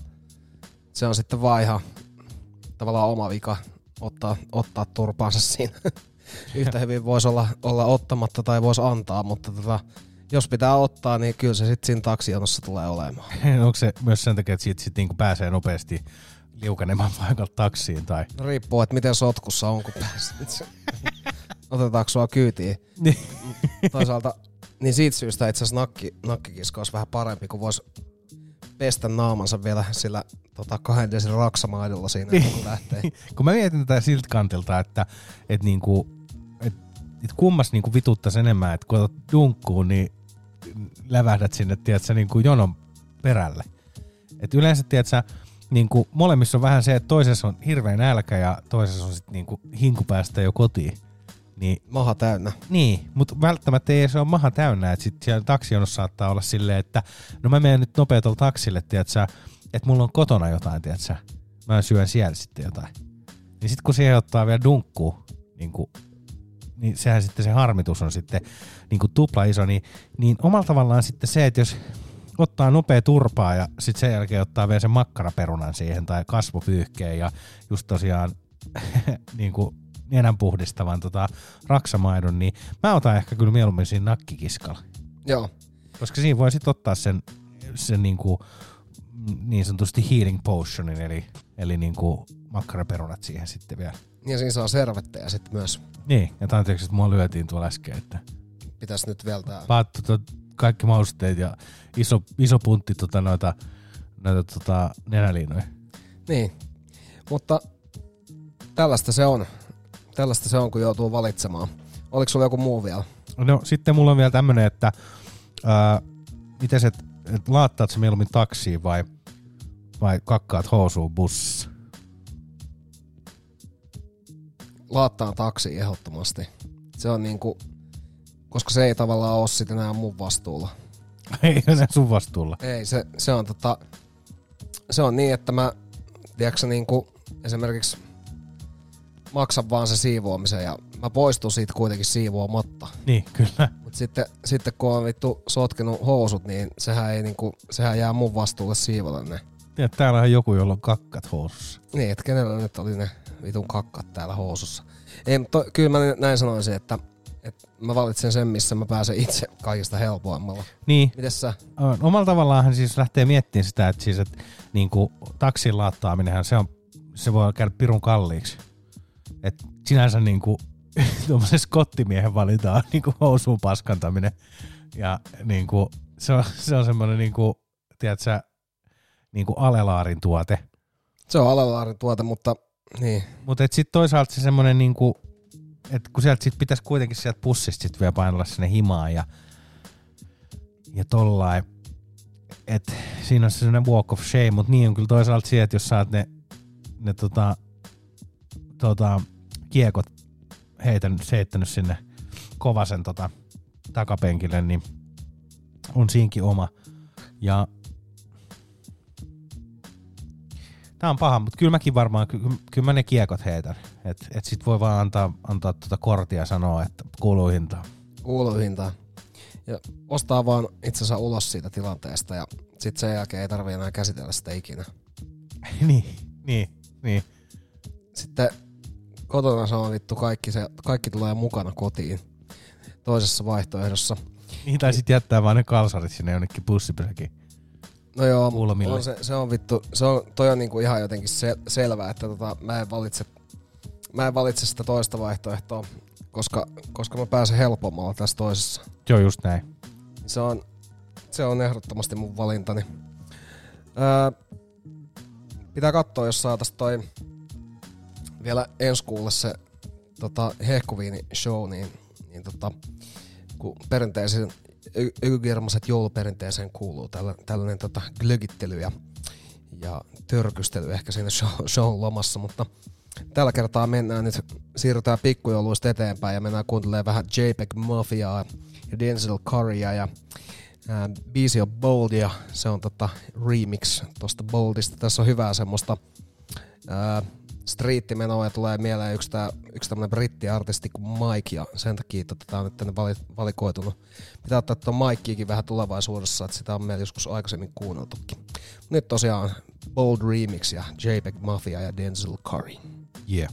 se on sitten vaan ihan tavallaan oma vika ottaa, ottaa turpaansa siinä. Yhtä hyvin voisi olla, olla ottamatta tai voisi antaa, mutta tota, jos pitää ottaa, niin kyllä se sitten siinä taksijonossa tulee olemaan. Onko se myös sen takia, että siitä sit niinku pääsee nopeasti liukenemaan paikalta taksiin? Tai? No riippuu, että miten sotkussa on, kun pääset. Otetaanko sua kyytiin? Toisaalta, niin siitä syystä itse asiassa nakki, nakkikiska olisi vähän parempi, kun voisi pestä naamansa vielä sillä tota, kahden desin raksamaidolla siinä, kun lähtee. Kun mä mietin tätä siltä kantilta, että et niinku, et, et kummas niinku vituttaisi enemmän, että kun otat dunkkuun, niin lävähdät sinne, tiedätkö, niinku jonon perälle. Et yleensä, tiedätkö, niinku molemmissa on vähän se, että toisessa on hirveä nälkä ja toisessa on sitten niinku hinku päästä jo kotiin. Niin, maha täynnä. Niin, mutta välttämättä ei se ole maha täynnä, että sitten siellä taksijonossa saattaa olla silleen, että no mä menen nyt nopea tuolla taksille, tiedätkö, että mulla on kotona jotain, tiedätkö, mä syön siellä sitten jotain. Niin sitten kun siihen ottaa vielä dunkkuun, niin, kuin, niin sehän sitten se harmitus on sitten niin kuin tupla iso, niin, niin omalla tavallaan sitten se, että jos ottaa nopea turpaa ja sitten sen jälkeen ottaa vielä sen makkaraperunan siihen tai kasvopyyhkeen ja just tosiaan niin kuin nenän puhdistavan tota, raksamaidon, niin mä otan ehkä kyllä mieluummin siinä nakkikiskalla. Joo. Koska siinä voi sitten ottaa sen, sen niinku, niin sanotusti healing potionin, eli, eli niinku makkaraperunat siihen sitten vielä. Ja siinä saa servetteja sitten myös. Niin, ja anteeksi, että mua lyötiin tuolla äsken, että pitäisi nyt vielä tää. Paat tota, kaikki mausteet ja iso, iso puntti tota, noita, noita tota, nenäliinoja. Niin, mutta tällaista se on. Tällaista se on, kun joutuu valitsemaan. Oliko sulla joku muu vielä? No sitten mulla on vielä tämmönen, että ää, miten se, et laattaat se mieluummin taksiin vai, vai kakkaat housuun bussissa? Laattaan taksiin ehdottomasti. Se on niinku, koska se ei tavallaan ole sit enää mun vastuulla. Ei se sun vastuulla. Ei, se, se on tota, se on niin, että mä, tiedätkö niinku, esimerkiksi maksan vaan se siivoamisen ja mä poistun siitä kuitenkin siivoamatta. Niin, kyllä. Mut sitten, sitten kun on vittu sotkenut housut, niin sehän, ei niinku, sehän jää mun vastuulle siivota ne. Ja täällä on joku, jolla on kakkat housussa. Niin, että kenellä nyt oli ne vitun kakkat täällä housussa. Ei, to, kyllä mä näin sanoisin, että, että mä valitsen sen, missä mä pääsen itse kaikista helpoimmalla. Niin. Mites sä? Omalla tavallaan hän siis lähtee miettimään sitä, että siis, että niinku, taksin laattaaminenhan se, on, se voi käydä pirun kalliiksi. Et sinänsä niinku tuommoisen skottimiehen valitaan niinku housuun paskantaminen. Ja niinku se on, se on semmoinen niinku, tiedätkö, niinku alelaarin tuote. Se on alelaarin tuote, mutta niin. Mutta sitten toisaalta se semmoinen niinku, että kun sieltä sit pitäisi kuitenkin sieltä pussista sit vielä painella sinne himaan ja ja tollain. Että siinä on se semmoinen walk of shame, mutta niin on kyllä toisaalta siihen, että jos sä oot ne, ne tota, tota, kiekot heitänyt, heittänyt sinne Kovasen tota, takapenkille, niin on siinkin oma. Ja tää on paha, mutta kyllä mäkin varmaan, ky- kyllä mä ne kiekot heitän. Että et sit voi vaan antaa, antaa tuota kortia ja sanoa, että kuuluu hintaan. Kuuluu hintaan. Ja ostaa vaan itsensä ulos siitä tilanteesta ja sit sen jälkeen ei tarvitse enää käsitellä sitä ikinä. niin, niin, niin. Sitten kotona se on vittu kaikki, se, kaikki tulee mukana kotiin toisessa vaihtoehdossa. Niin, tai sit jättää vaan ne kalsarit sinne jonnekin bussipysäkiin. No joo, mutta on se, se on vittu, se on, toi on niinku ihan jotenkin se, selvää, että tota, mä en valitse, mä en valitse sitä toista vaihtoehtoa, koska, koska mä pääsen helpommalla tässä toisessa. Joo, just näin. Se on, se on ehdottomasti mun valintani. Öö, pitää katsoa, jos saatais toi vielä ensi kuulle se tota, hehkuviini-show, niin, niin tota, kun perinteisen ykygirmaset jouluperinteeseen kuuluu tällä, tällainen tota, glögittely ja, ja törkystely ehkä siinä show, shown lomassa, mutta Tällä kertaa mennään nyt, siirrytään pikkujouluista eteenpäin ja mennään kuuntelemaan vähän J P E G Mafiaa ja Denzel Currya ja ää, biisi on Bold ja se on tota remix tosta Boldista. Tässä on hyvää semmoista ää, striittimenoa ja tulee mieleen yksi, tää, yksi tämmönen brittiartisti kuin Mike ja sen takia tota, tää on nyt tänne valikoitunut. Pitää ottaa tuon Mikeakin vähän tulevaisuudessa, että sitä on meillä joskus aikaisemmin kuunneltukin. Nyt tosiaan Bold Remix ja J P E G Mafia ja Denzel Curry. Yeah.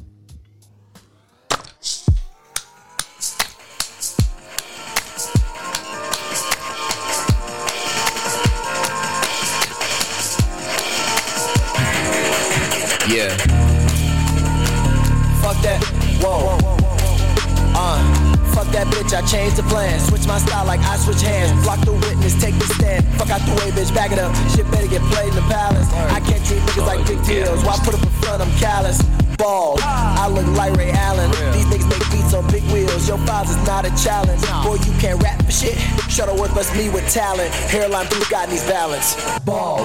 Yeah. Fuck that. Whoa. Uh. Fuck that bitch, I changed the plan. Switch my style like I switch hands. Block the witness, take the stand. Fuck out the way, bitch, back it up. Shit better get played in the palace. I can't treat niggas like big deals. Why put up in front, I'm callous. Bald, I look like Ray Allen. These niggas make beats on big wheels. Your files is not a challenge. Boy, you can't rap for shit. Shuttleworth must me with talent. Hairline blue got needs balance. Bald.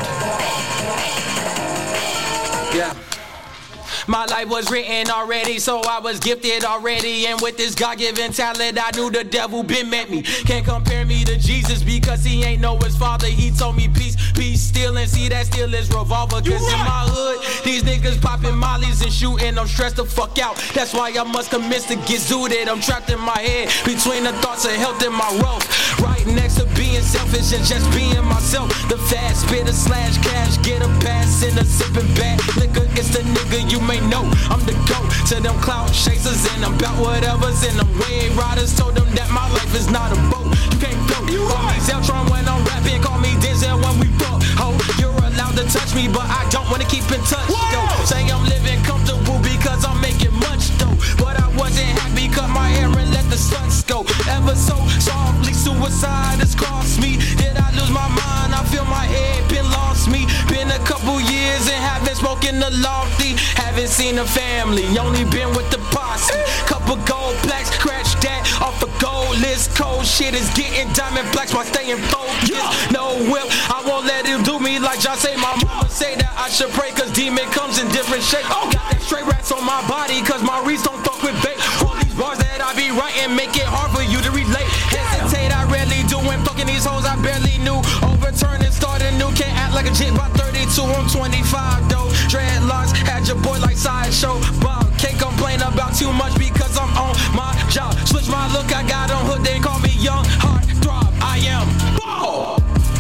Yeah. My life was written already, so I was gifted already. And with this God-given talent, I knew the devil been met me. Can't compare me to Jesus because he ain't know his father. He told me peace, peace, steal, and see that still is revolver. Cause right. In my hood, these niggas popping mollies and shooting. I'm stressed the fuck out. That's why I must commence to get zooted. I'm trapped in my head between the thoughts of health and my wealth. Right next to being selfish and just being myself. The fast spitter slash cash, get a pass in a sipping bag. Liquor, it's the nigga you may know. I'm the GOAT to them cloud chasers and I'm about whatever's in them wave riders. Told them that my life is not a boat. You can't go. You call me Zeltron when I'm rapping, call me Denzel when we fuck. Ho, you're allowed to touch me, but I don't wanna keep in touch. Though. Say I'm living comfortable because I'm making much though. But I wasn't happy, cut my hair and let the suns go. Ever so softly, suicide has crossed me. Did I lose my mind? I feel my head been lost me. Been a couple years and haven't spoken the lofty. Haven't seen a family, only been with the posse. Couple gold plaques, scratch that off a gold list. Cold shit is getting diamond blacks while staying focused. No whip, I won't let him do me like John say. My mama say that I should pray cause demon comes in different shapes. Got that straight rats on my body cause my reeds don't fuck with bait. All these bars that I be writing make it hard for you to relate. Hesitate, I rarely do when fucking these hoes I barely knew. Overturn and start anew, can't act like a jit by thirty-two, I'm twenty-five though. Dreadlocks, had your boy like Sideshow Bob. Can't complain about too much because I'm on my job. Switch my look, I got on hood, they call me young heart throb. I am ball.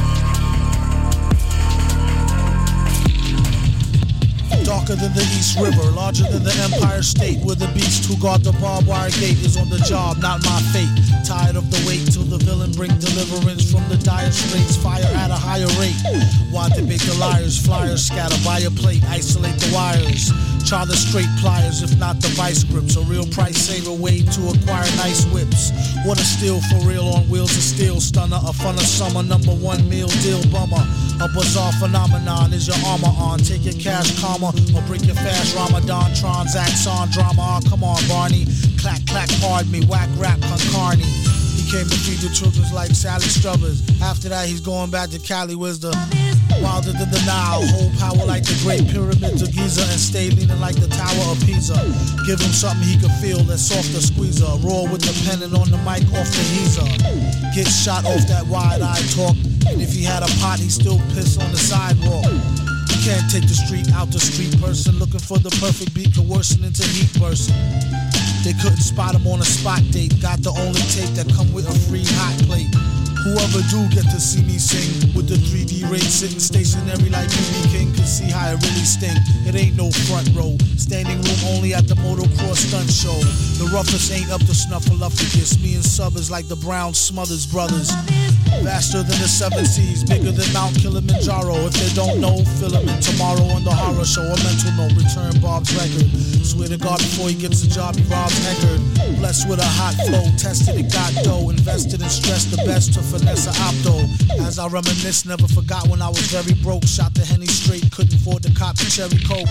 Darker than the East River, larger than the Empire State, where the beast who guard the barbed wire gate is on the job, not my fate. Tired of the wait till the villain bring deliverance from the dire straits, fire at a higher rate. Why debate the liars, flyers scatter by a plate, isolate the wires. Try the straight pliers, if not the vice grips. A real price saver way to acquire nice whips. What a steal for real on wheels of steel. Stunner, a fun of summer, number one meal deal bummer. A bizarre phenomenon is your armor on. Take your cash karma or break your fast Ramadan. Transacts on drama. Oh, come on, Barney. Clack, clack, pardon me. Whack, rap, concarney. He came to feed the children like Sally Struthers. After that, he's going back to Cali. Where's the wilder than the Nile? Hold power like the Great Pyramids of Giza and stay leaning like the Tower of Pisa. Give him something he can feel that's softer squeezer. Roar with the pen and on the mic off the heezer. Get shot off that wide-eyed talk. And if he had a pot, he'd still piss on the sidewalk. You can't take the street out the street person. Looking for the perfect beat coercing into heat person. They couldn't spot him on a spot date. Got the only tape that come with a free hot plate. Whoever do get to see me sing with the three D rate sitting stationary like B B King can see how it really stink. It ain't no front row. Standing room only at the motocross stunt show. The roughest ain't up to snuffleupagus. Me and Sub is like the Brown Smothers brothers. Vaster than the seven seas, bigger than Mount Kilimanjaro. If they don't know, fill them in tomorrow on the horror show. A mental note, return Bob's record. Swear to God before he gets a job, he robs Eckerd. Blessed with a hot flow, tested it, got dough. Invested and stressed the best to finesse a opto. As I reminisce, never forgot when I was very broke. Shot the Henny straight, couldn't afford to cop the cherry coke.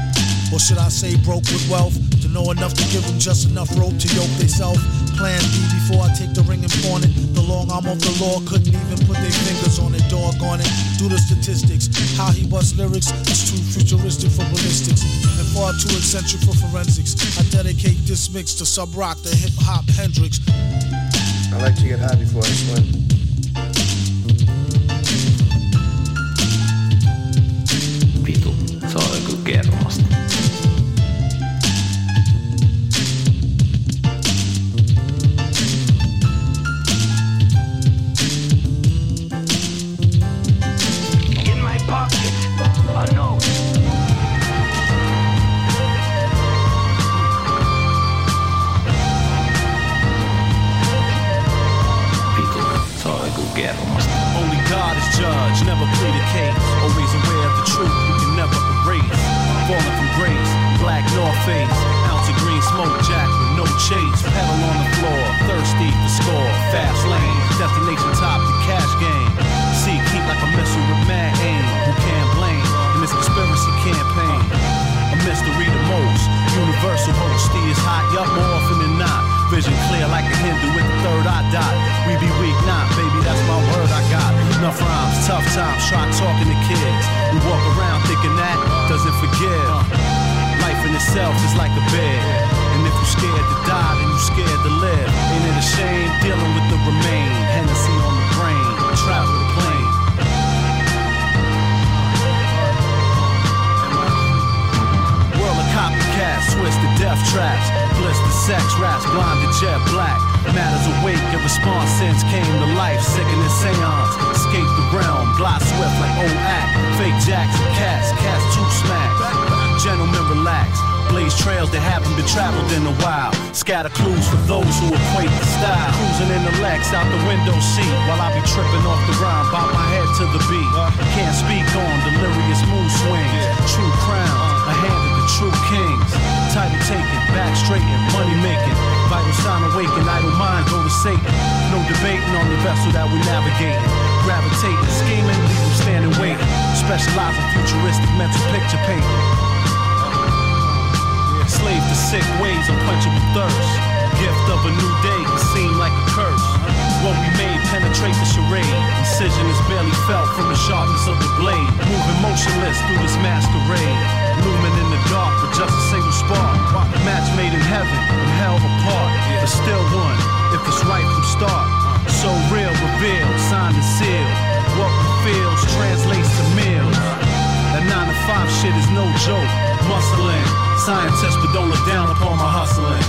Or should I say broke with wealth? To know enough to give them just enough rope to yoke theyself. Plan B before I take the ring and pawn it. The long arm of the law couldn't even put their fingers on it, doggone it. Do the statistics. How he busts lyrics is too futuristic for ballistics and far too eccentric for forensics. I dedicate this mix to Sub Rock, the hip hop Hendrix. I like to get high before I swim. Vitu, se on joku kermasta. In my pocket, a note. Vitu, se on joku kermasta. Only God is judge, never plead a case. Always aware of the truth, we can never erase. Falling from grace, black North Face. Ounce of green smoke jack with no chase. Pedal on the floor, thirsty for score. Fast lane, destination top, the cash game. See, keep like a missile with mad aim. Who can't blame in this conspiracy campaign? A mystery the most. Universal host, is hot, yup, more often than not. Vision clear like a Hindu with the third eye dot. We be weak, not, baby, that's my word I got. Enough rhymes, tough times, try talking to kids. We walk around thinking that doesn't forgive. Life in itself is like a bed. And if you scared to die, then you scared to live. Ain't it a shame dealing with the remain? Hennessy on the brain, travel the plane. World of copycats, twisted death traps. Blister sex raps, blinded jet black. Matters awake, your response since came to life. Sickening seance, escape the realm. Glide swift like old act. Fake jacks and cats, cats too smack. Gentlemen relax. Blaze trails that haven't been traveled in a while. Scatter clues for those who equate the style. Cruising in the Lex out the window seat while I be tripping off the rhyme, bob my head to the beat. Can't speak on delirious mood swings. True crowns, a hand of the true kings. Title taken, back straighten, money making. Vital sign awaken, idle mind go to Satan. No debating on the vessel that we navigating. Gravitating, scheming, leave them standing waiting. Specialize in futuristic mental picture painting. Slave to sick ways, unquenchable thirst. Gift of a new day can seem like a curse. What we made penetrate the charade. Incision is barely felt from the sharpness of the blade. Moving motionless through this masquerade. Looming in the dark with just a single spark. Match made in heaven and hell apart. But still one, if it's right from start. So real, revealed, signed and sealed. What we feels translates to meals. That nine to five shit is no joke. Muscling, scientists but don't look down upon my hustling.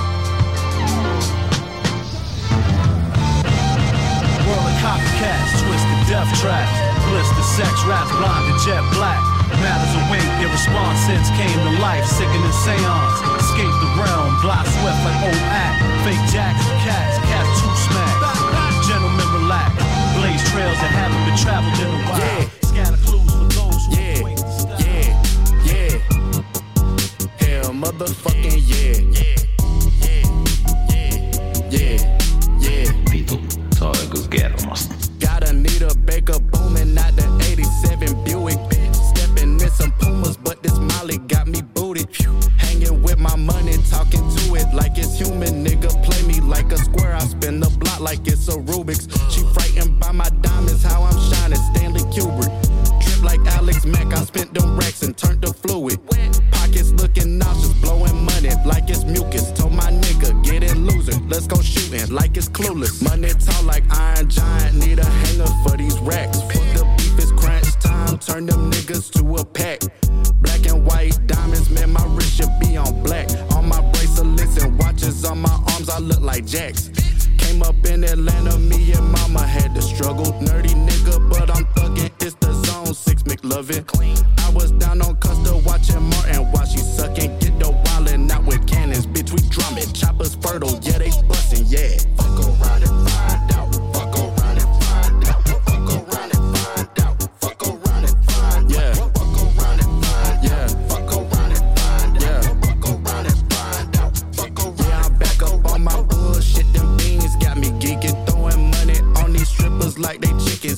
World of copycats, twisted death traps. Blister sex raps, blinded jet black. Matters awake, your response since came to life. Sickening seance, escape the realm. Glide swift like old act. Fake jacks and cats, cats too smack. Gentlemen relax, blaze trails that haven't been traveled in a while. Yeah. Scatter clues for those who yeah. wait to stop. Yeah, yeah, hell motherfucking yeah. Yeah, yeah, yeah, yeah. Vitu, se on joku kermasta. Gotta need a Baker booming out the eighty-seven Buick. Stepping in some Pumas, but this Molly got me booted. Hanging with my money, talking to it like it's human. Nigga, play me like a square. I spin the block like it's a Rubik's. She frightened by my diamonds, how I'm shining. Stanley Kubrick. Trip like Alex Mack, I spent them racks and turned to fluid. Pockets looking nauseous, blowing money like it's mucus. Told my nigga, get it loser, let's go shooting like it's clueless. Money tall like Iron Giant, need a hanger for these racks. Fuck the beef, it's crunch time, turn them niggas to a pack. Black and white diamonds, man, my wrist should be on black. On my bracelets and watches on my arms, I look like Jacks. Came up in Atlanta, me and mama had to struggle. Nerdy nigga, but I'm thuggin', it's the zone, six McLovin. I was down on Custer watching Martin while she suckin'. Get the wildin' out with cannons, bitch, we drumming. Choppers fertile, yeah, they bustin', yeah. Fuck around and find out, fuck around and find out, fuck around and find out, fuck around and find out, yeah. Fuck around and find out, yeah. Fuck around and find out, yeah. Fuck around and find out, fuck around. Yeah, I'm back up on my bullshit, them beans got me geeking, throwing money on these strippers like they chicken.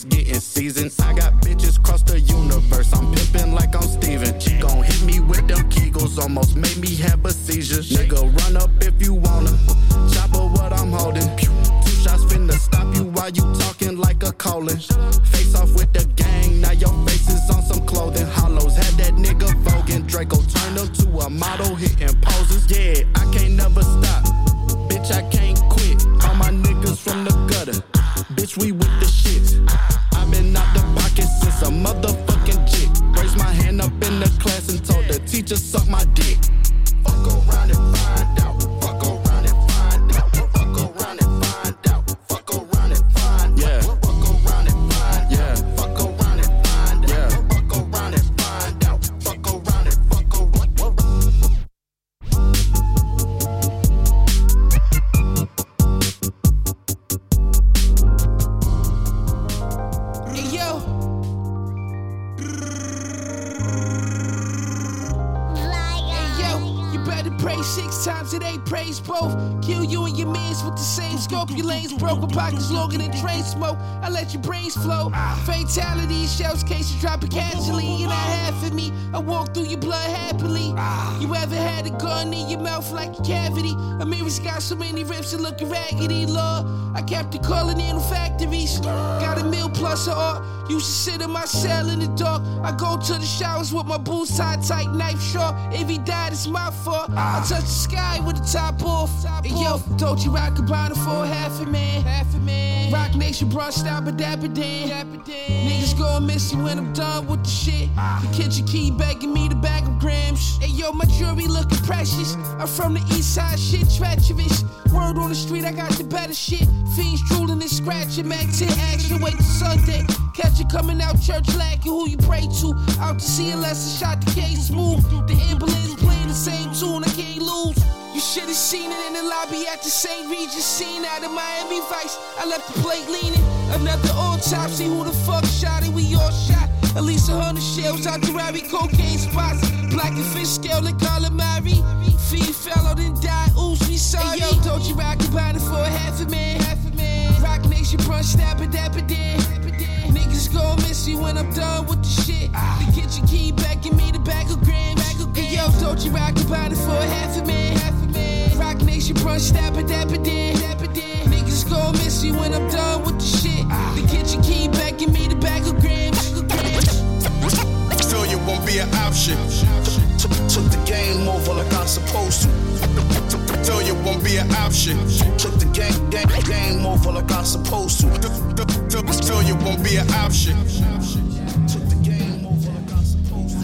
six times it ain't praise both. Kill you and your mans with the same scope. Your lanes broke with pockets longer than train smoke. I let your brains flow. Fatality, shells cases dropping casually. You're not half of me. I walk through your blood happily. You ever had a gun in your mouth like a cavity? Amir's got so many rips and looking raggedy, Lord. I kept it calling in factories. Got a meal plus a art. Used to sit in my cell in the dark. I go to the showers with my boots tied tight, knife sharp. If he died, it's my fault. I touch the sky with the top off. And yo, don't you rock a bottle for half a man? Half a man. Rock Nation brought stop a dapper dan. Niggas gon' miss you when I'm done with the shit. The kitchen key begging me to bag of grams. Hey yo, my jewelry looking precious. I'm from the east side, shit treacherous. Word on the street, I got the better shit. Fiends drooling and scratching, Mac ten action, wait till Sunday. Catch you coming out church lacking, who you pray to. Out to see unless I shot the case smooth. The ambulance playing the same tune, I can't lose. You should've seen it in the lobby at the Saint Regis scene out of Miami Vice. I left the plate leaning. Another autopsy, who the fuck shot it? We all shot. At least a hundred shells out the Rari cocaine spots. Black and fish scale and calamari. Feed fellow then die, oops, we sorry. Hey, yo, don't you rock about it for a half a man? Half a man. Rock Nation brunch, stab a dapper dan. Niggas gon' miss you when I'm done with the shit. The kitchen key begging me to bag of grams. Hey, yo, don't you rock about it for a half a man? Half a man. Rock Nation brunch, stab a dapper dan. Niggas gon' miss you when I'm done with the shit. The kitchen key begging me to bag of grams. Failure won't be an option. Took the game over like I'm supposed to. Failure won't be an option. Took the game, game, game over like I'm supposed to. Failure won't be an option. Took the game over like I'm supposed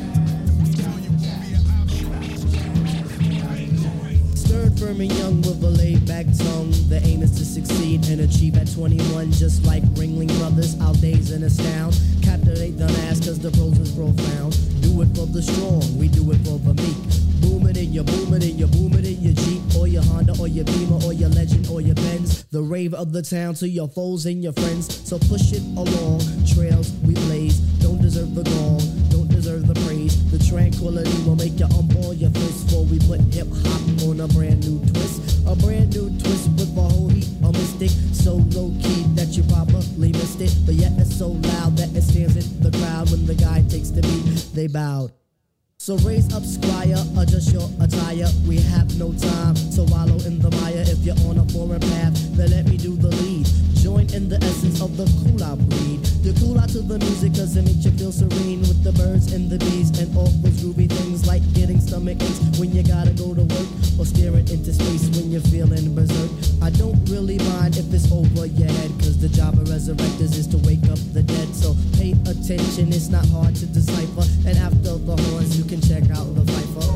to. Stirred, firm, and young with a laid-back tongue. The aim is to succeed and achieve at twenty-one. Just like Ringling Brothers, I'll daze and astound. Captivate the mass cause the prose is profound. Do it for the strong, we do it for the meek. Boom it in your boom it in your boom it in your Jeep or your Honda or your Beamer or your Legend or your Benz. The rave of the town to your foes and your friends. So push it along, trails we blaze. Don't deserve the gong, don't deserve the praise. The tranquility will make you unball your fist. For we put hip hop on a brand new twist. A brand new twist with a whole heap of mystic. So low key that you probably missed it. But yet it's so loud that it stands in the crowd. When the guy takes the beat, they bowed. So raise up, squire, adjust your attire. We have no time to wallow in the mire. If you're on a foreign path, then let me do the lead. Join in the essence of the cool out breed. You cool out to the music cause it makes you feel serene. With the birds and the bees and all those groovy things. Like getting stomach aches when you gotta go to work. Or staring into space when you're feeling berserk. I don't really mind if it's over your head. Cause the job of resurrectors is to wake up the dead. So pay attention, it's not hard to decipher. And after the horns you can check out the Viper.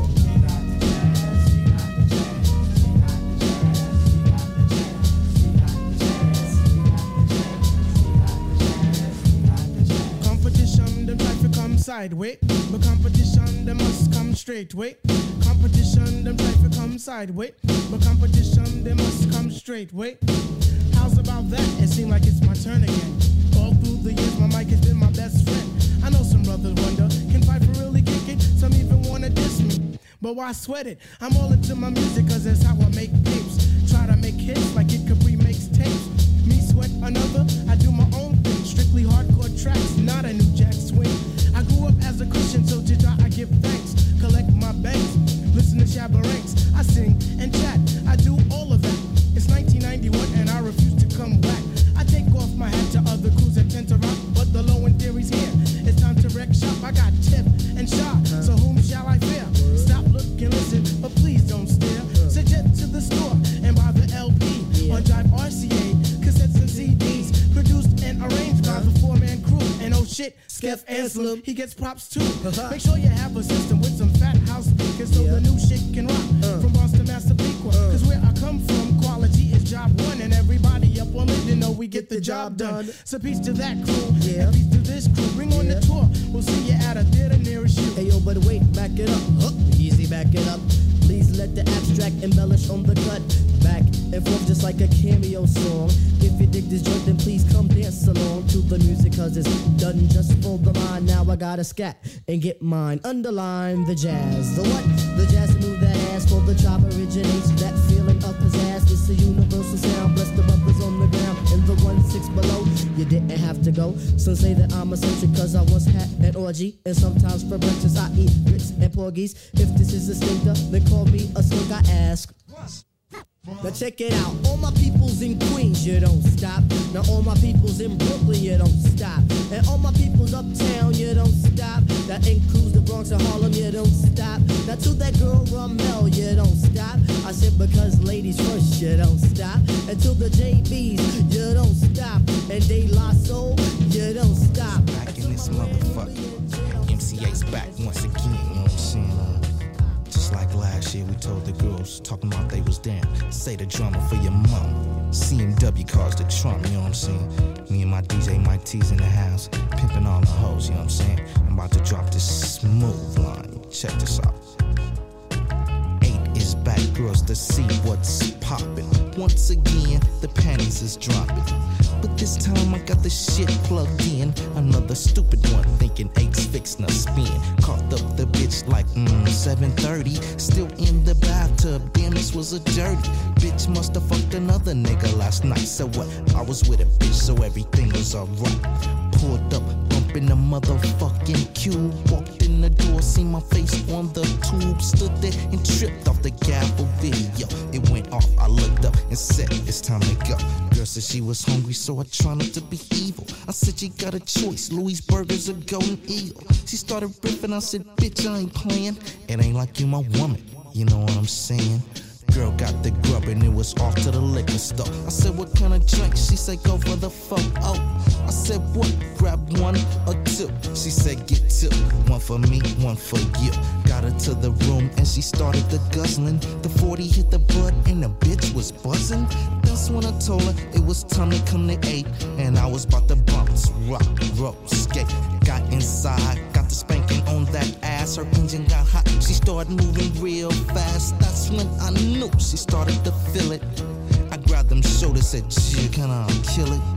Competition, them try to come sideways. But competition, them must come straight way. Competition, them try to come sideways. But competition, they must come straight way. How's about that? It seems like it's my turn again. All through the years, my mic has been my best friend. I know some brothers wonder, can Piper really kick it? Some even wanna diss me, but why sweat it? I'm all into my music cause that's how I make tapes. Try to make hits like Kid Capri makes tapes. Me sweat another, I do my own thing. Strictly hardcore tracks, not a new jack swing. I grew up as a Christian, so to God I give thanks. Collect my banks, listen to Shabba Ranks. I sing and chat, I do all of that. It's nineteen ninety-one and I refuse to come back. I take off my hat to other crews that tend to rock, but the low end theory's here. It's time to wreck shop. I got tip and shot, so whom shall I fear? Stop, look, and listen, but please don't stare. Suggest to the store and buy the L P on Drive R C A, cassettes and C Ds, produced and arranged by the four-man crew. And oh shit, Skeff Anselm, he gets props too. Make sure you have a system with some fat house speakers so the new shit can rock. From Boston, Massapequa, cause where I come from, quality is job one, and everybody up on it, you know we get the job done. So peace to that crew, and peace to this crew. Bring on the tour, we'll see you at a theater nearest you. Hey yo, but wait, back it up, huh? Easy, back it up. Please let the abstract embellish on the cut. Back and forth just like a cameo song. If you dig this joint, then please come dance along to the music, cause it's done just for the mind. Now I gotta scat and get mine. Underline the jazz. The what? The jazz to move that ass for the the tribe originates. That feeling of pizzazz, it's a universal sound. Bless the brothers on the ground and the one six below. You didn't have to go. Some say that I'm eccentric cause I once had an orgy. And sometimes for breakfast I eat grits and porgies. If this is a stinker, then call me a slink, I ask. Now check it out, all my peoples in Queens, you don't stop. Now all my peoples in Brooklyn, you don't stop. And all my peoples uptown, you don't stop. That includes the Bronx and Harlem, you don't stop. Now to that girl Ramel, you don't stop. I said because ladies first, you don't stop. And to the J Bs, you don't stop. And De La Soul, you don't stop. Back in this motherfucker, M C A's back once again, you know what I'm saying? Uh, Just like last year, we told the girls, talking about they was down. Say the drama for your mom. C M W cars the Trump, you know what I'm saying? Me and my D J Mike T's in the house, pimping all the hoes, you know what I'm saying? I'm about to drop this smooth line. Check this out. Eight is back, girls, to see what's poppin'. Once again, the panties is dropping. But this time I got the shit plugged in. Another stupid one thinking eight's fixin' a spin. Caught up the bitch like mm, seven thirty. Still in the bathtub, damn this was a dirty. Bitch musta fucked another nigga last night. So what? I was with a bitch so everything was alright. Pulled up, bumping the motherfucking cube. Walked in the door, seen my face on the tube. Stood there and tripped off the gavel video. It went off, I looked up and said it's time to go. Girl said she was hungry so I tried not to be evil. I said you got a choice, Louis Burgers or Golden Eagle. She started ripping, I said bitch I ain't playing. It ain't like you my woman, you know what I'm saying? Girl got the grub and it was off to the liquor store. I said what kind of drink? She said go for the photo. I said what? Grab one or two. She said get two, one for me, one for you. Got her to the room and she started the guzzling. The forty hit the bud and the bitch was buzzing. That's when I told her it was time to come to eight. And I was about to bounce, rock, roll, skate. Got inside, got the spanking on that ass. Her engine got hot, she started moving real fast. That's when I knew she started to feel it. I grabbed them shoulders, said, gee, can I kill it?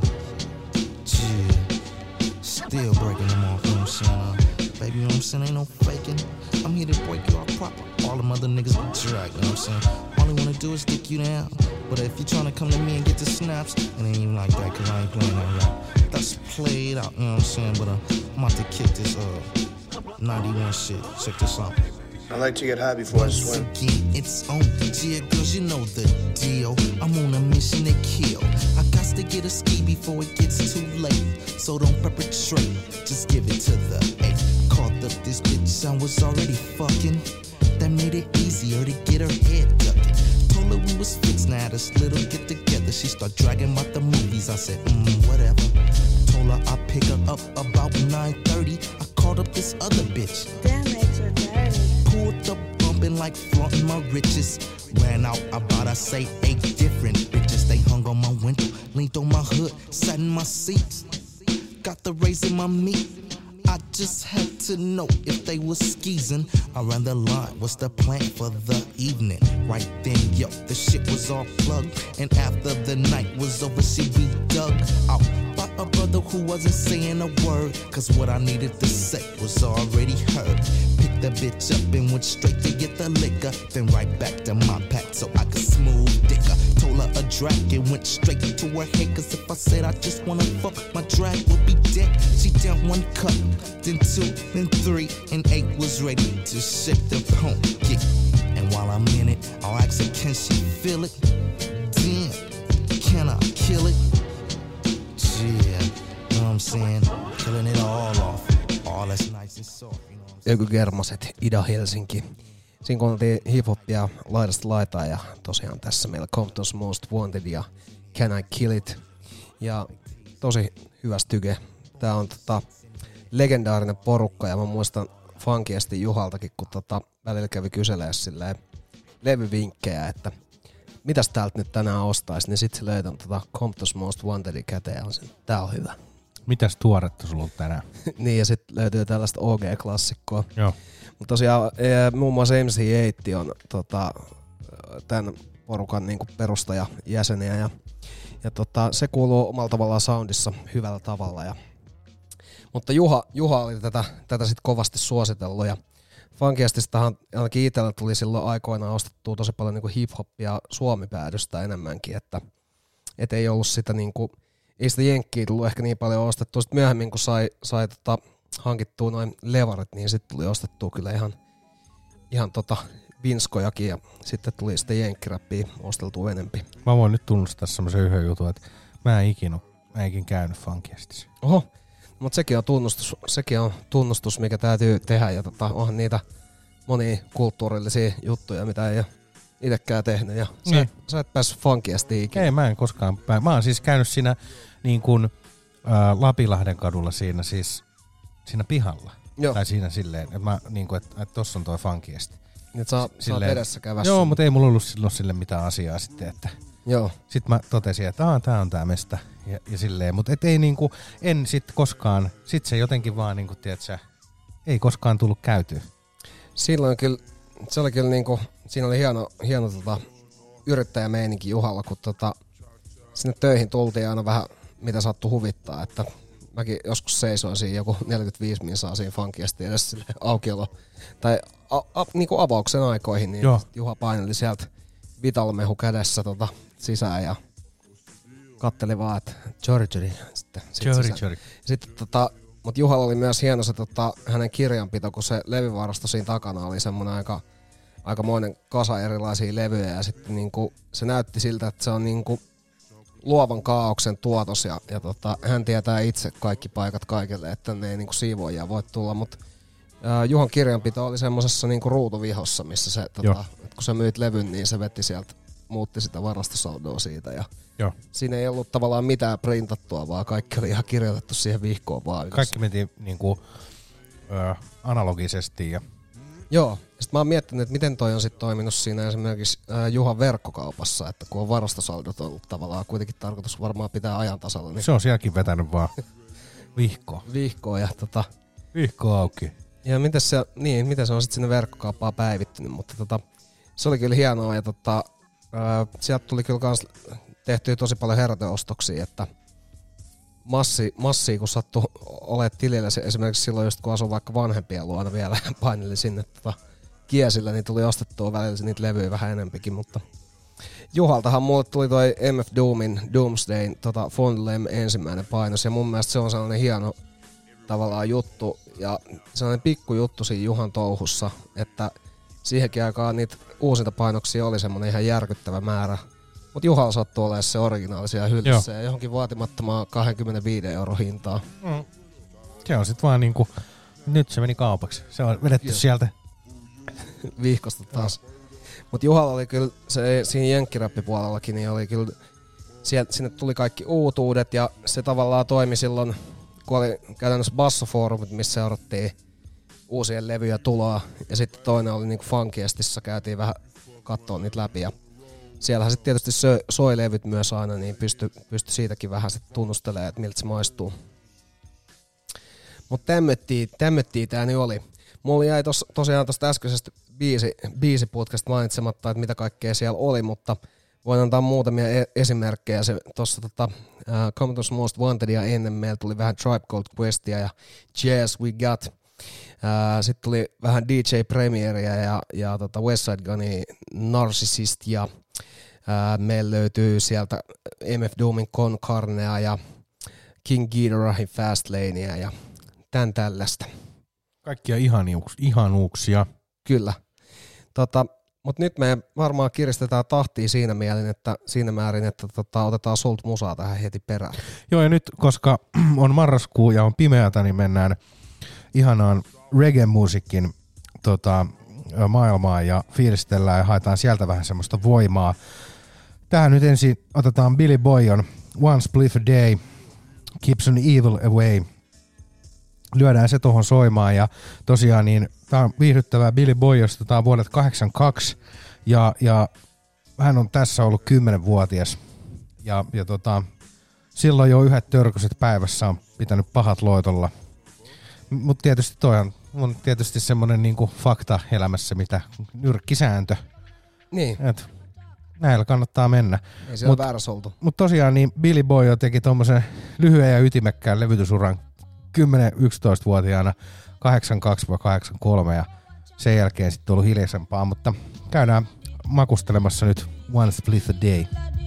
Gee, still breaking them off, you know what I'm saying? Uh, baby, you know what I'm saying? Ain't no faking. I'm here to break you off proper. All them other niggas be drag, you know what I'm saying? All they wanna do is dick you down. But if you tryna come to me and get the snaps, it ain't even like that, cause I ain't playing that rap. That's played out, you know what I'm saying? But uh, I'm about to kick this uh ninety-one shit. Check this out. I like to get high before I swim. Again, it's on, yeah, girls, you know the deal. I'm on a mission to kill. I got to get a ski before it gets too late. So don't perpetrate, just give it to the eight. Caught up this bitch, I was already fucking. That made it easier to get her head ducking. Told her we was fixed, now this little get together. She start dragging about the movies, I said, mm, whatever. Told her I'd pick her up about nine thirty. I called up this other bitch. Damn it, you're dirty. Pulled up bumping like flaunting my riches. Ran out about I say eight different bitches. They hung on my window, leaned on my hood, sat in my seats. Got the raise in my meat. I just had to know if they was skeezing. I ran the line, what's the plan for the evening? Right then, yo, the shit was all plugged. And after the night was over, she be dug out by a brother who wasn't saying a word. Cause what I needed to say was already heard. Picked the bitch up and went straight to get the liquor. Then right back to my pack so I could smooth dicker. Told her a drag and went straight to her head. Cause if I said I just wanna fuck, my drag would be dead. She down one cup, then two, then three, and eight was ready to shake the pump kick. And while I'm in it, I'll ask her, can she feel it? Damn, can I kill it? Yeah, you know what I'm saying? Killing it all off. All that's nice and soft, you know what I'm saying? Ökygermaset, Ida Helsinki. Siinä kuunneltiin hip-hopia laidasta laitaan ja tosiaan tässä meillä Compton's Most Wanted ja Can I Kill It. Ja tosi hyvä styke. Tää on tota legendaarinen porukka ja mä muistan funkiesti Juhaltakin, kun tota välillä kävi kyselee silleen levyvinkkejä, että mitäs täältä nyt tänään ostais, niin sit se löi ton tota Compton's Most Wantedin käteen ja on sen, tää on hyvä. Mitäs tuoretta sulla on tänään? Niin ja sit löytyy tällaista O G-klassikkoa. Joo. Mutta tosiaan muun muassa M C eight on tota, tämän porukan niinku perustajajäseniä ja, ja tota, se kuuluu omalla tavallaan soundissa hyvällä tavalla. Ja, mutta Juha, Juha oli tätä, tätä sit kovasti suositellut ja Funkiestistahan ainakin itsellä tuli silloin aikoinaan ostettua tosi paljon niinku hip-hoppia Suomi-päädystä enemmänkin, että et ei ollut sitä niinku, ei sitä jenkkiä tullut ehkä niin paljon ostettua. Sitten myöhemmin kun sai, sai tota, hankittua noin levarit, niin sitten tuli ostettua kyllä ihan, ihan tota vinskojakin ja sitten tuli sitten jenkkiräppiä osteltua enempi. Mä voin nyt tunnustaa semmoisen yhden jutun, että mä en ikinä, mä en ikinä käynyt Funkiestissa. Oho, mutta sekin on tunnustus, sekin on tunnustus, mikä täytyy tehdä ja tota, onhan niitä monia kulttuurillisia juttuja, mitä ei ole itsekään tehnyt ja sä, niin. sä et päässyt Funkiestiin ikinä. Ei, mä en koskaan pää. Mä oon siis käynyt siinä niin kuin äh, Lapinlahden kadulla siinä siis siinä pihalla. Joo. Tai siinä silleen, että mä niinku, että et tossa on toi Funkiesti. Nyt saa, saat edessä kävässä. Joo, mutta ei mulla ollut silloin sille mitään asiaa sitten, että joo. Sitten mä totesin, että aah, tää on tää mesta ja, ja silleen, mutta et ei niinku, en sit koskaan, sit se jotenkin vaan niinku, tiedätkö, ei koskaan tullut käytyä. Silloin kyllä, se oli kyllä niinku, siinä oli hieno, hieno tota, yrittäjämeininki Juhalla, kun tota, sinne töihin tultiin aina vähän, mitä sattui huvittaa, että mäkin joskus seisoin siinä joku neljäkymmentäviisi minsaa siinä Funkiesti edes sille aukiolo, tai a, a, niinku avauksen aikoihin, niin joo. Juha paineli sieltä Vitalmehu kädessä tota, sisään ja katteli vaan, että Jori Jori. Sitten, Jori Jori. Sitten tota, mut Juhalla oli myös hieno se tota, hänen kirjanpito, kun se levyvarasto siinä takana oli semmoinen aika aikamoinen kasa erilaisia levyjä ja sitten niinku, se näytti siltä, että se on niinku luovan kaaoksen tuotos ja, ja tota, hän tietää itse kaikki paikat kaikille, että ne ei niinku siivoojia voi tulla, mutta Juhan kirjanpito oli semmosessa niinku ruutuvihossa, missä se, tota, kun sä myit levyn, niin se vetti sieltä, muutti sitä varastosaldoa siitä ja joo. Siinä ei ollut tavallaan mitään printattua, vaan kaikki oli ihan kirjoitettu siihen vihkoon vaan. Kaikki meni niinku ö, analogisesti ja joo, sitten mä oon miettinyt, että miten toi on sitten toiminut siinä esimerkiksi ää, Juhan verkkokaupassa, että kun on varastosaldot ollut tavallaan kuitenkin tarkoitus varmaan pitää ajan tasalla. Niin se on sielläkin vetänyt vaan vihkoa. Vihkoa ja tota... Vihko auki. Ja miten se, niin, miten se on sitten sinne verkkokauppaan päivittynyt, mutta tota, se oli kyllä hienoa ja tota, ää, sieltä tuli kyllä kans tehtyä tosi paljon heräteostoksia, että massi, massia kun sattui olemaan tilillä, se esimerkiksi silloin just kun asui vaikka vanhempien luona vielä paineli sinne tota, kiesillä, niin tuli ostettua välillä niitä levyjä vähän enempikin, mutta Juhaltahan mulle tuli toi M F Doomin Doomsdayn tota Fondlem ensimmäinen painos ja mun mielestä se on sellainen hieno tavallaan juttu ja sellainen pikku juttu siinä Juhan touhussa, että siihenkin aikaan niitä uusinta painoksia oli semmoinen ihan järkyttävä määrä. Mutta Juhalla sattuu olemaan se originaalisia hyllyssä ja johonkin vaatimattomaan kaksikymmentäviisi euro hintaa. Mm. Se on sit vaan niinku, nyt se meni kaupaksi. Se on vedetty Joo. sieltä. Vihkosta taas. Mutta Juhalla oli kyllä, se, siinä jenkkiräppipuolellakin, niin oli kyllä, sieltä, sinne tuli kaikki uutuudet ja se tavallaan toimi silloin, kun oli käytännössä bassofoorumit, missä seurattiin uusien levyjä tuloa. Ja sitten toinen oli niinku Funkiestissa, käytiin vähän katsoa niitä läpi ja siellähän sitten tietysti soi, soi levyt myös aina, niin pystyi pysty siitäkin vähän sitten tunnustelemaan, että miltä se maistuu. Mutta tämmöttiä, tämmöttiä tää nyt oli. Mulla jäi tos, tosiaan tosta äskeisestä biisi, biisiputkasta mainitsematta, että mitä kaikkea siellä oli, mutta voin antaa muutamia e- esimerkkejä. Se tossa tota, uh, Commodores Most Wantedia ennen meillä tuli vähän Tribe Called Questia ja Jazz We Got. Uh, Sitten tuli vähän D J Premieria ja, ja tota Westside Gunnin Narcissist ja Ää, meillä löytyy sieltä M F Doomin Con Carnea ja King Ghidorah Fastlanea ja tän tällaista. Kaikkia ihaniuks, ihanuuksia. Kyllä. Tota, mutta nyt me varmaan kiristetään tahtia siinä mielin, että siinä määrin, että tota, otetaan sulta musaa tähän heti perään. Joo ja nyt, koska on marraskuu ja on pimeätä, niin mennään ihanaan reggae-musiikin tota, maailmaan ja fiilistellään ja haetaan sieltä vähän semmoista voimaa. Tähän nyt ensin otetaan Billy Boyon One Spliff a Day, Keeps an Evil Away. Lyödään se tohon soimaan ja tosiaan niin tää on viihdyttävää Billy Boyosta, tää on vuodelta kahdeksankymmentäkaksi ja, ja hän on tässä ollut kymmenvuotias ja, ja tota, silloin jo yhdet törkyset päivässä on pitänyt pahat loitolla. Mutta tietysti toi on, on tietysti semmonen niinku fakta elämässä, mitä nyrkkisääntö. Niin. Et näillä kannattaa mennä. Ei se ole väärässä oltu. Mutta tosiaan niin Billy Boy teki tommosen lyhyen ja ytimekkään levytysuran kymmenen-yksitoistavuotiaana kahdeksankymmentäkaksi kahdeksankymmentäkolme ja sen jälkeen sitten ollut hiljaisempaa, mutta käydään makustelemassa nyt One Split a Day.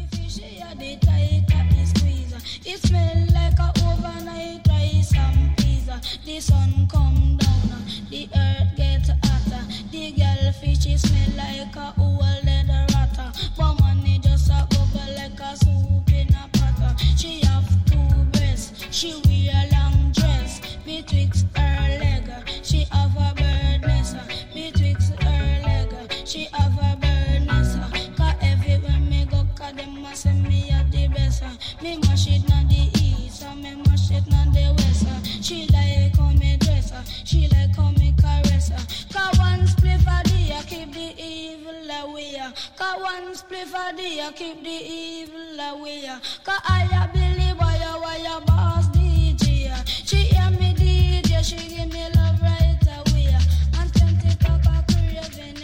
It smell like a overnight rice and pizza. The sun come down, the earth get hotter. The girl fish smell like a old leather ratter. But money just a bubble like a soup in a pot. She have two breasts, she wear a long dress. Betwixt her leg, she have a bird nest. Betwixt her leg, she have a bird nest. Cause everywhere me go, cause them a say me a the best. Me mash it na the east, me mash it na the west. She like how me dress, she like how me caress. Cause one spliff a day, keep the evil away. Cause one spliff a day, keep the evil away. Cause I a Billy Boy, why a boss D J. She hear me D J, she give me love right away. And twenty pack of craving.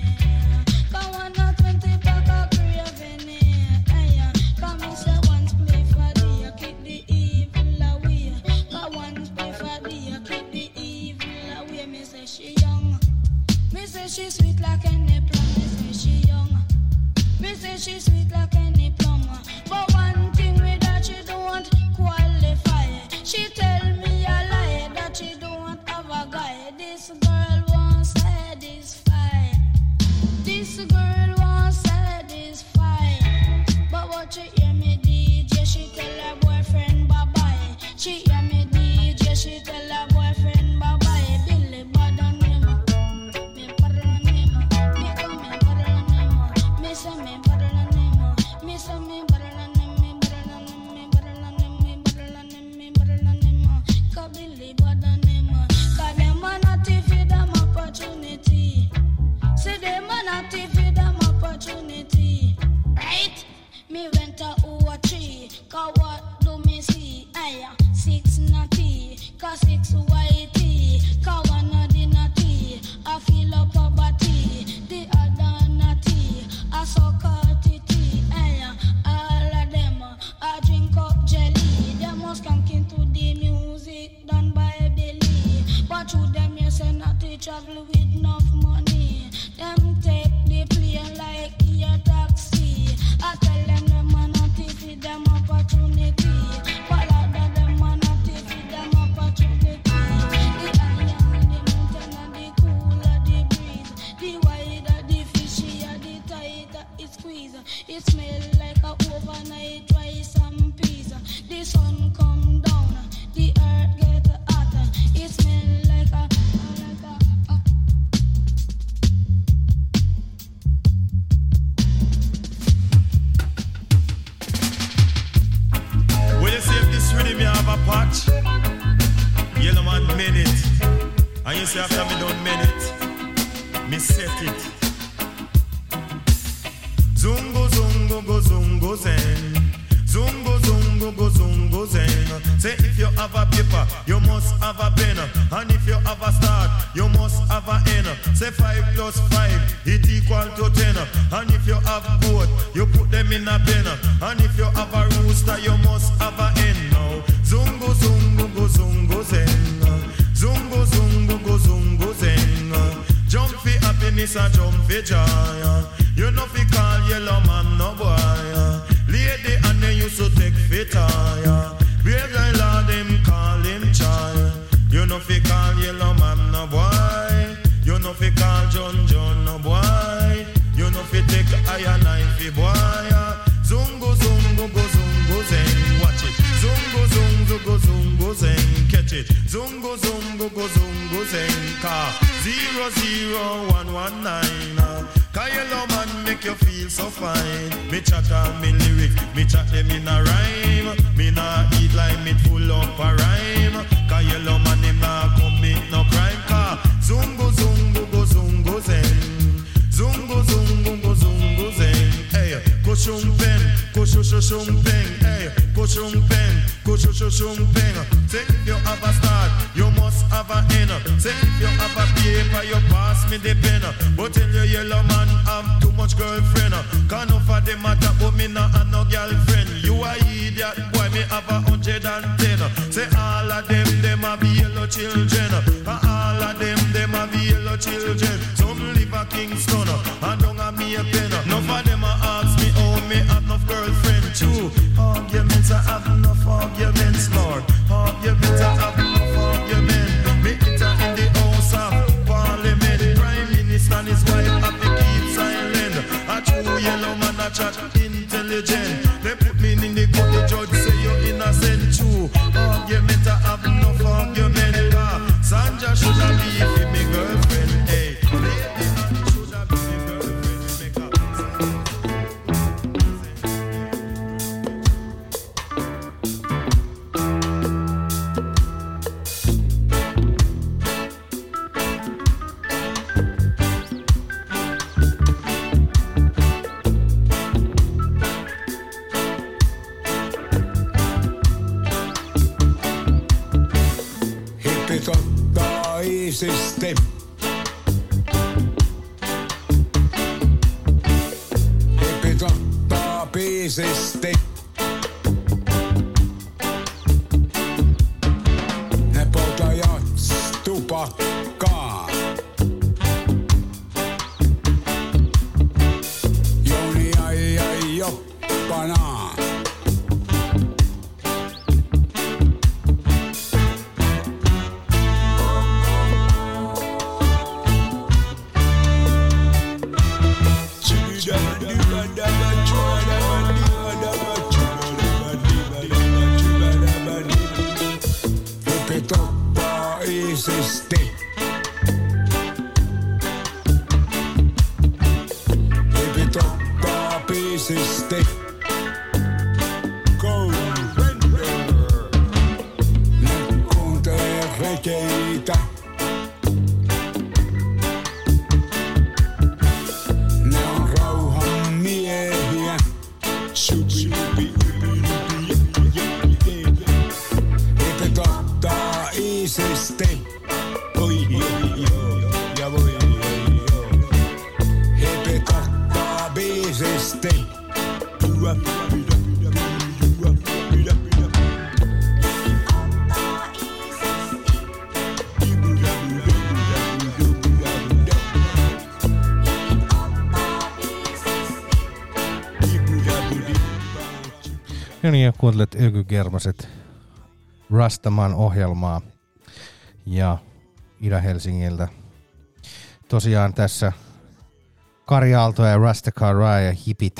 Cause one a twenty pack of craving. Cause me say one spliff a day, keep the evil away. Cause one spliff a day, keep the evil away. Me say she young. Me say she sweet like any plum. Me say she young. Me say she sweet like any plum. But one thing with that she don't qualify. She tell me a lie that she don't have a guy. This girl won't satisfy. This girl won't satisfy. But what you hear me D J, she tell her boyfriend bye bye. She hear me D J, she tell her boyfriend bye bye. Billy bad on him, me bad on him, me come me bad on him, me say me bad on him, me say me bad on him, me bad on him, me bad on him, me bad on him, me bad on him. Cause Billy bad on him, cause them a not feed them opportunity. Say them a not feed them opportunity, right? Me went to O three, cause what do me see? Aya, six natty, cause six whitey, cause one of the natty, I feel up a body, the other natty, I suck out titty, aya, all of them, I drink up jelly, them must come into the music done by Billy, but through them you say natty travel with enough money, them take the plane like a taxi, I tell them them a not feed them opportunity. But all of them a not feed them opportunity. The higher the mountain and the cooler the breeze. The wider the fishier, the tighter it squeeze. It smell like a overnight rice and peas. The sun come down, the earth get hotter. It smell like a like a. a Well, you see if this rhythm you have a patch, yellow man made it. And you see after me done made it, me set it. Zungo, zungo, go, zungo, zen. Zungo, zungo, go, zungo, zen. Say if you have a paper, you must have a pen. And if you have a start, you must have a end. Say five plus five, it equal to ten. And if you have goat, you put them in a pen. And if you have a rooster, you must have a hen now. Zungo, zungo, go, zungo, zen. Zungo, zungo, go, zungo, zen. Jump for happiness and jump for joy. You know fi call yellow man no boy. Lady and they used to take fit tire. Brave guy lord him call him child. You know fi call yellow man no boy. You know fi call John John no boy. You know fi take iron knife boy. Zungo zungo go zungo zen. Watch it. Zungo zungo go zungo zen. Catch it. Zungo zungo go zungo zen. Car zero zero one one nine. Cause yellow man make you feel so fine. Me chat all me lyrics, me chat them in a rhyme. Me nah eat like me full up a rhyme. Cause yellow man him nah commit no crime. Cause zungo zungo go zungo zen. Zungo zungo go zungo zen. Hey, go shumpen, go shu shu shumpen. Hey, go shumpen, go shu shu shumpen. Say if you have a start, you must have a end. Say if you have a paper, you pass me the pen. But tell your yellow man have too much girlfriend. Can't offer them matter, but me not have no girlfriend. You a idiot, boy, me have a hundred and ten. Say all of them, them have yellow children. And all of them, them have yellow children. iisisti. Hipit ottaa biisisti. Ne poltajat tupakkaa. Joni ai ai joppanaa. Hipit ottaa iisisti. Hipit ottaa biisisti. Go Render. Ne kuuntelee regeitä. Ne on rauhan miehiä. Hipit ottaa iisisti. Oi oi oi ja voi oi oi. Hipit ottaa biisisti. No niin, ja kuuntelet Ökykermaset Rastaman ohjelmaa ja Ida-Helsingiltä. Tosiaan tässä Kari Aalto ja Rastafari ja Hipit.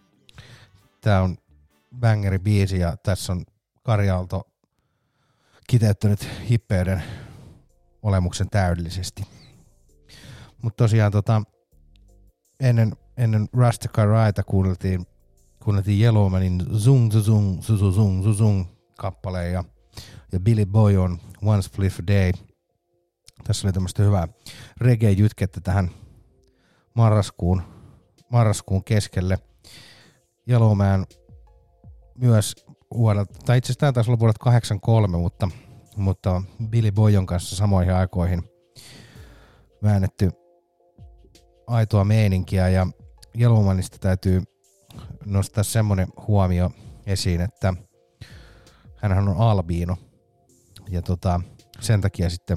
Tää on bangeri biisi ja tässä on Kari Aalto kiteyttänyt hippeiden olemuksen täydellisesti. Mutta tosiaan tota, ennen, ennen Rastafariita kuunneltiin kuunneltiin Yellowmanin Zung Zung Zung Zung Zung kappaleen ja, ja Billy Boy on One Spliff a Day. Tässä oli tämmöistä hyvää reggae-jytkettä tähän marraskuun, marraskuun keskelle. Yellowman myös vuodelta, tai itse asiassa tämä taisi olla vuodelta kahdeksankymmentäkolme, mutta, mutta Billy Boyon kanssa samoihin aikoihin väännetty aitoa meininkiä ja Yellowmanista täytyy nostaa semmoinen huomio esiin, että hänhän on albiino ja tota, sen takia sitten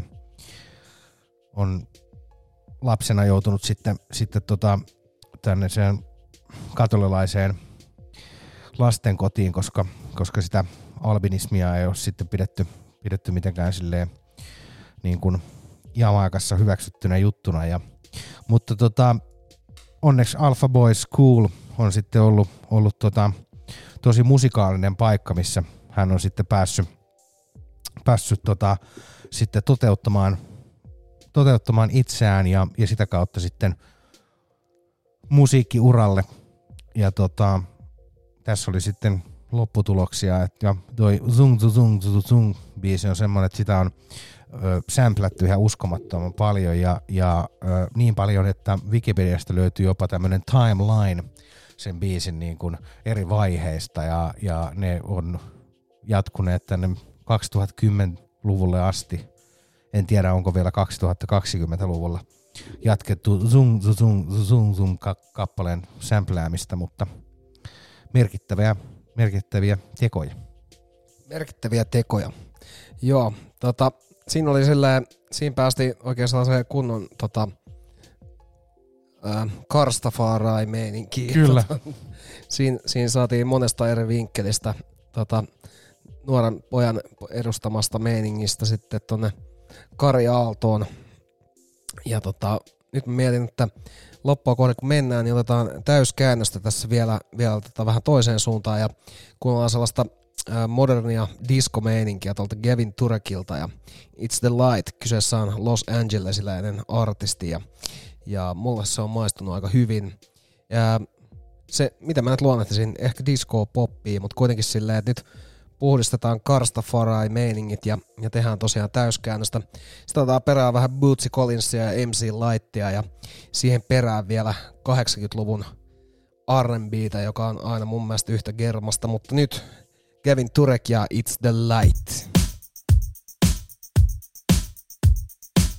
on lapsena joutunut sitten, sitten tota, tänne sen katolilaiseen lastenkotiin, koska, koska sitä albinismia ei ole sitten pidetty, pidetty mitenkään silleen niin kuin Jamaikassa hyväksyttynä juttuna. Ja, mutta tota, onneksi Alpha Boy School on sitten ollut, ollut tota, tosi musikaalinen paikka, missä hän on sitten päässyt, päässyt tota, sitten toteuttamaan, toteuttamaan itseään ja, ja sitä kautta sitten musiikkiuralle. Ja tota, tässä oli sitten lopputuloksia, että toi Zung Zung Zung Zung biisi on semmoinen, että sitä on ö, samplattu ihan uskomattoman paljon ja, ja ö, niin paljon, että Wikipediasta löytyy jopa tämmöinen timeline sen biisin niin kuin eri vaiheista ja, ja ne on jatkuneet tänne kaksituhattakymmenluvulle asti. En tiedä, onko vielä kaksituhattakaksikymmentäluvulla jatkettu Zung Zung Zung Zung kappaleen sämpläämistä, mutta merkittäviä, merkittäviä tekoja. Merkittäviä tekoja. Joo, tota, siinä oli silleen, siinä päästiin oikein sellaiseen kunnon tota, äh, Karstafarai-meininkiin. Kyllä. Tota, siinä, siinä saatiin monesta eri vinkkelistä tota, nuoren pojan edustamasta meiningistä sitten tonne Kari Aaltoon. Ja tota, nyt mä mietin, että loppua kohden kun mennään, niin otetaan täyskäännöstä tässä vielä, vielä tota vähän toiseen suuntaan ja kuunnellaan sellaista äh, modernia disco-meininkiä tuolta Gavin Turekilta ja It's the Light. Kyseessä on Los Angelesiläinen artisti ja, ja mulle se on maistunut aika hyvin. Ja se, mitä mä nyt luonnehtisin, ehkä disco-poppia, mutta kuitenkin silleen, että nyt puhdistetaan Karstafarai-meiningit ja, ja tehdään tosiaan täyskäännöstä. Sitten otetaan perään vähän Bootsy Collinsia ja M C Lightia ja siihen perään vielä kahdeksankymmentäluvun R and B:tä, joka on aina mun mielestä yhtä germasta, mutta nyt Gavin Turek ja It's the Light.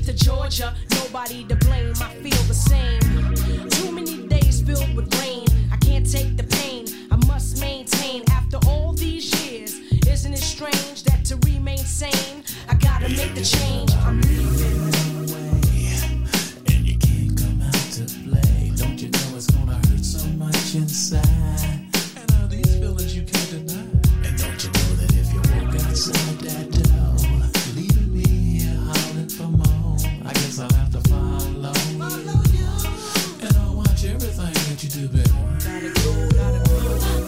to Georgia, nobody to blame, I feel the same. Too many days filled with rain, I can't take the pain, I must maintain after all these years. Isn't it strange that to remain sane, I gotta make the change, I'm leaving. And you can't come out to play, don't you know it's gonna hurt so much inside? And all these feelings you can't deny. And don't you know that if you walk outside that door, leaving me here howling for more, I guess I'll have to follow you. And I'll watch everything that you do, baby. Gotta go, gotta go.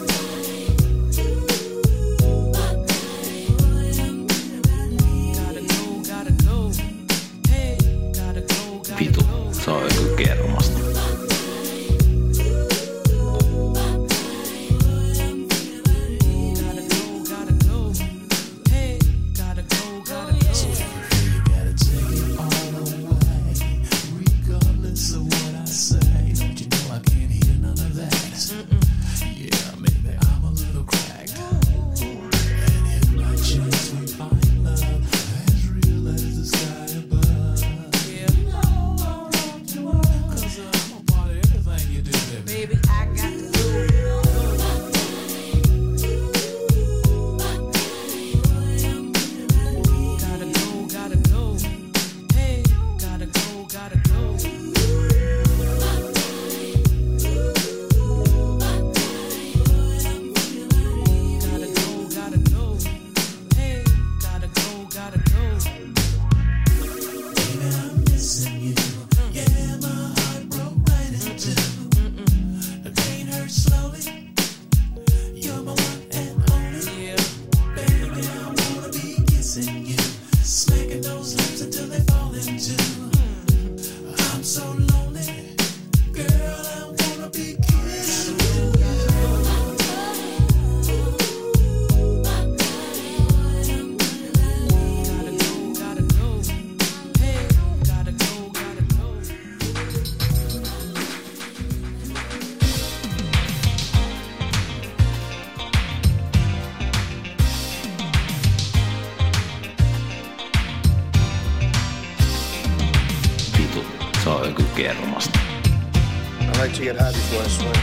Vitu, se on joku kermasta. Se on joku kermasta. I like to get high before I swim.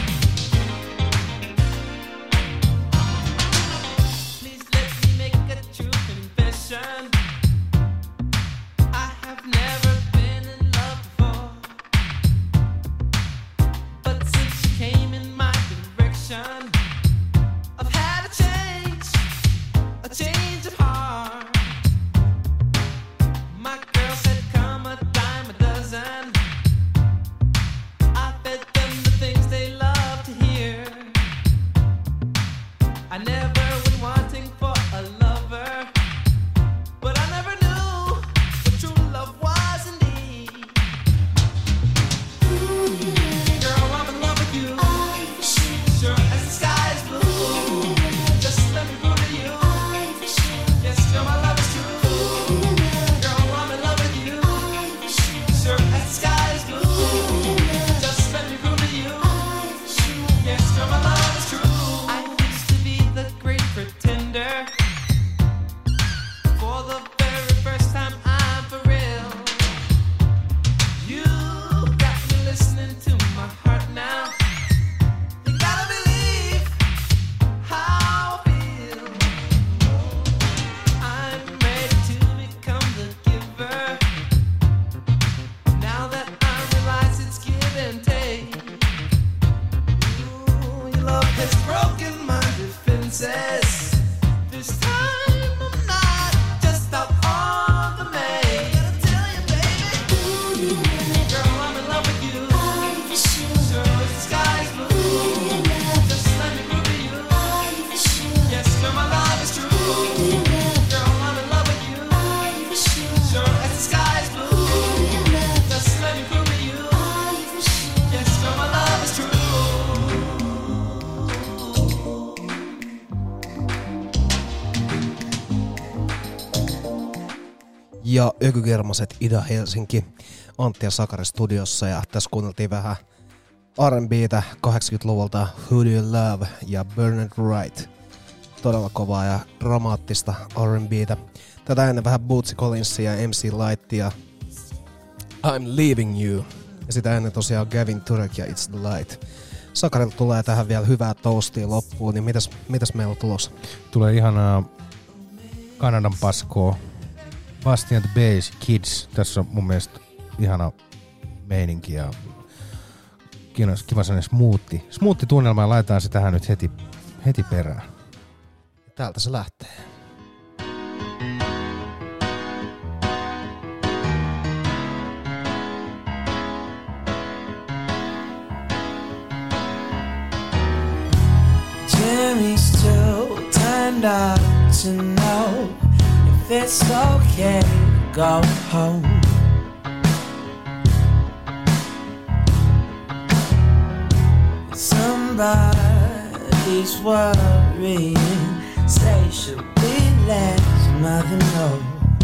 Ja Ökygermaset Ida-Helsinki, Antti ja Sakari studiossa, ja tässä kuunneltiin vähän R and B:tä kahdeksankymmentäluvulta Who Do You Love ja Bernard Wright. Todella kovaa ja dramaattista R and B:tä. Tätä ennen vähän Bootsy Collinsia ja M C Lightia I'm Leaving You. Ja sitä ennen tosiaan Gavin Turek ja It's the Light. Sakarilta tulee tähän vielä hyvää toastia loppuun, niin mitäs, mitäs meillä on tulossa? Tulee ihanaa Kanadan paskoa. Basti and the Bass Kids. Tässä on mun mielestä ihana meininki ja kiva sellainen smoothi. Smoothi tunnelma ja laitetaan se tähän nyt heti, heti perään. Täältä se lähtee. Jimmy's too turned up to know if it's okay to go home. Somebody's worrying, say she'll be let mother know.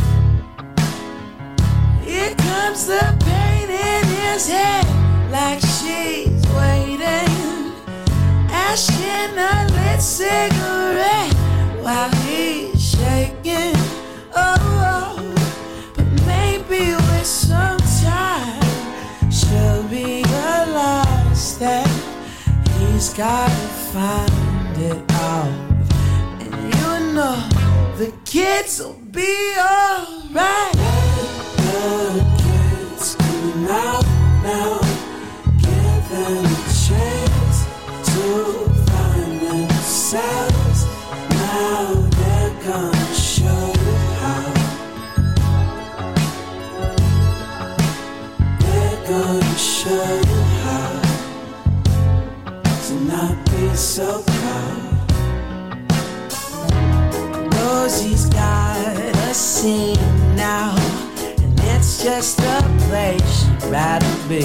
Here comes the pain in his head, like she's waiting, asking a lit cigarette while he's shaking. Oh, oh, but maybe with some time she'll realize that he's gotta find it out. And you know the kids will be alright. The kids come out now, give them a chance to find themselves. Now they're gonna show you how. They're gonna show you how to not be so proud. Knows he's got a scene now, and it's just a place she'd rather be.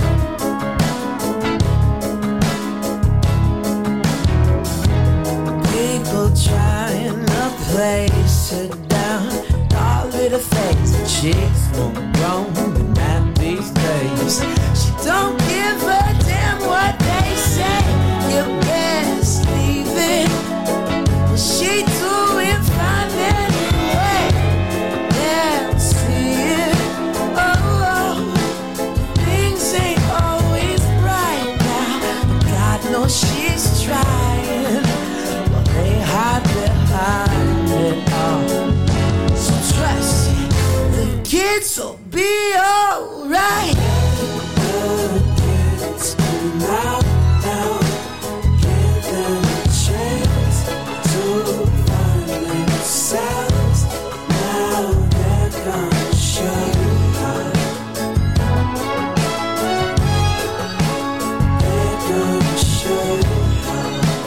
People trying to place her down, all with her face and cheeks won't grow with man these days. She don't give a damn what they say. You best leave it. She doing fine anyway. They'll see it. Oh, oh, things ain't always right now. God knows she's trying. Well, they hide behind it all. So trust me, the kids will be alright. The kids come out now, give them a chance to find themselves. Now they're gonna show you how. They're gonna show you how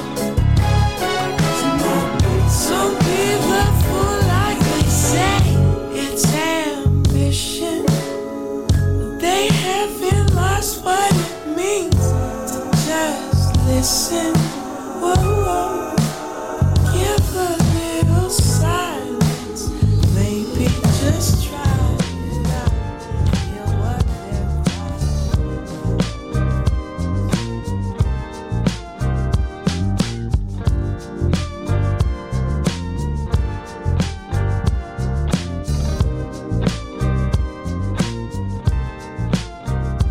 to not be. Some people fool like they say it's ambition, but they haven't lost what it means to just listen. Whoa, whoa. Give a little silence, maybe just try it out. Hear what they're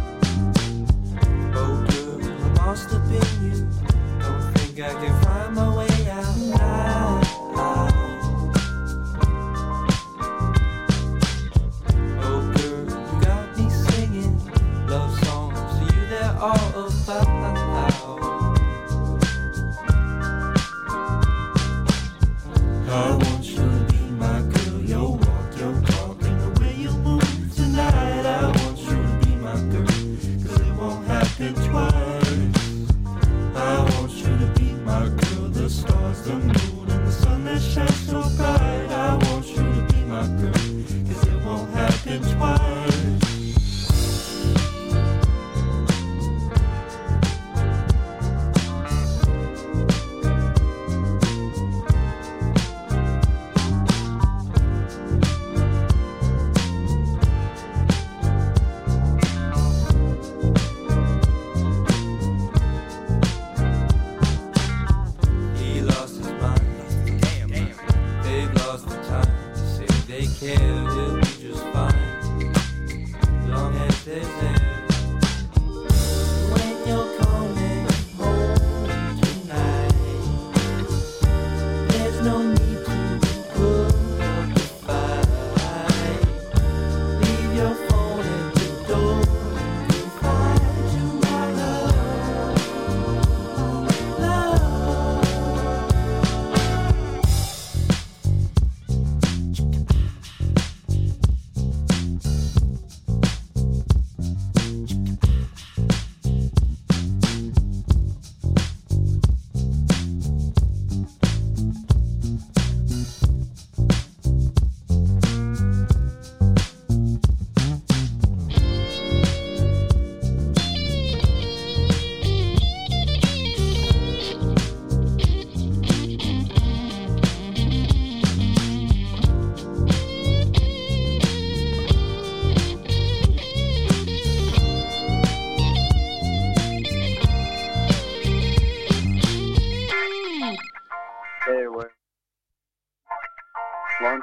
Oh, girl, I'm lost up in you. Don't think I can find my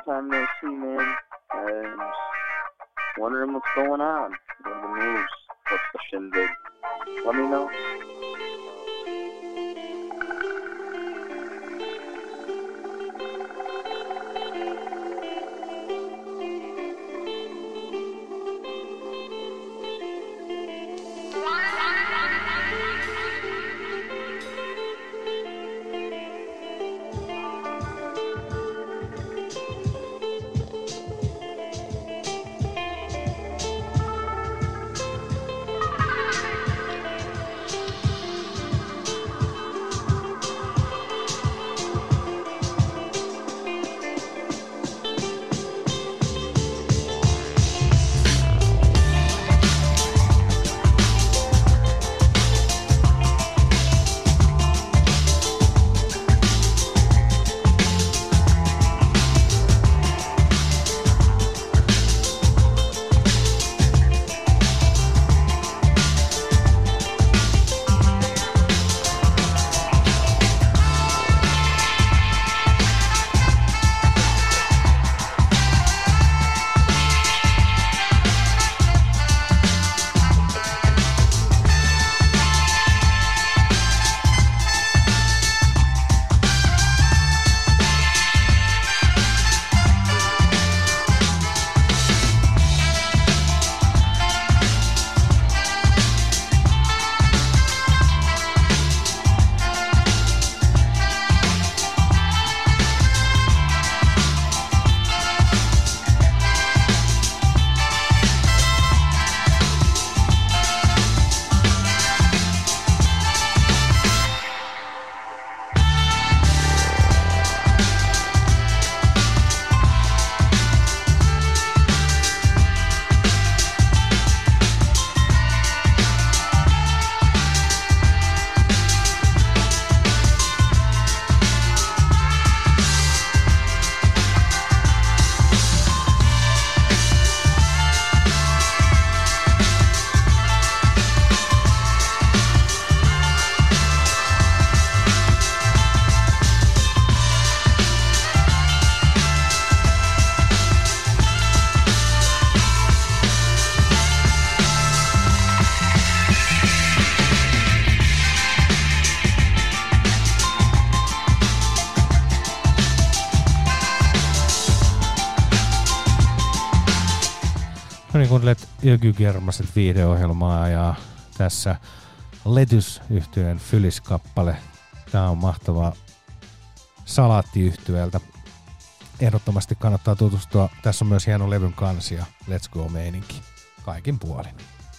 time no see, man. I'm just wondering what's going on. What are the moves? What's the shindig? Let me know. No niin, kuuntelet Yökygermaset viihdeohjelmaa ja tässä Letys-yhtyeen Fylis-kappale. Tää on mahtavaa salaattiyhtyeeltä. Ehdottomasti kannattaa tutustua. Tässä on myös hieno levyn kansi ja Let's Go-meininki kaikin puolin.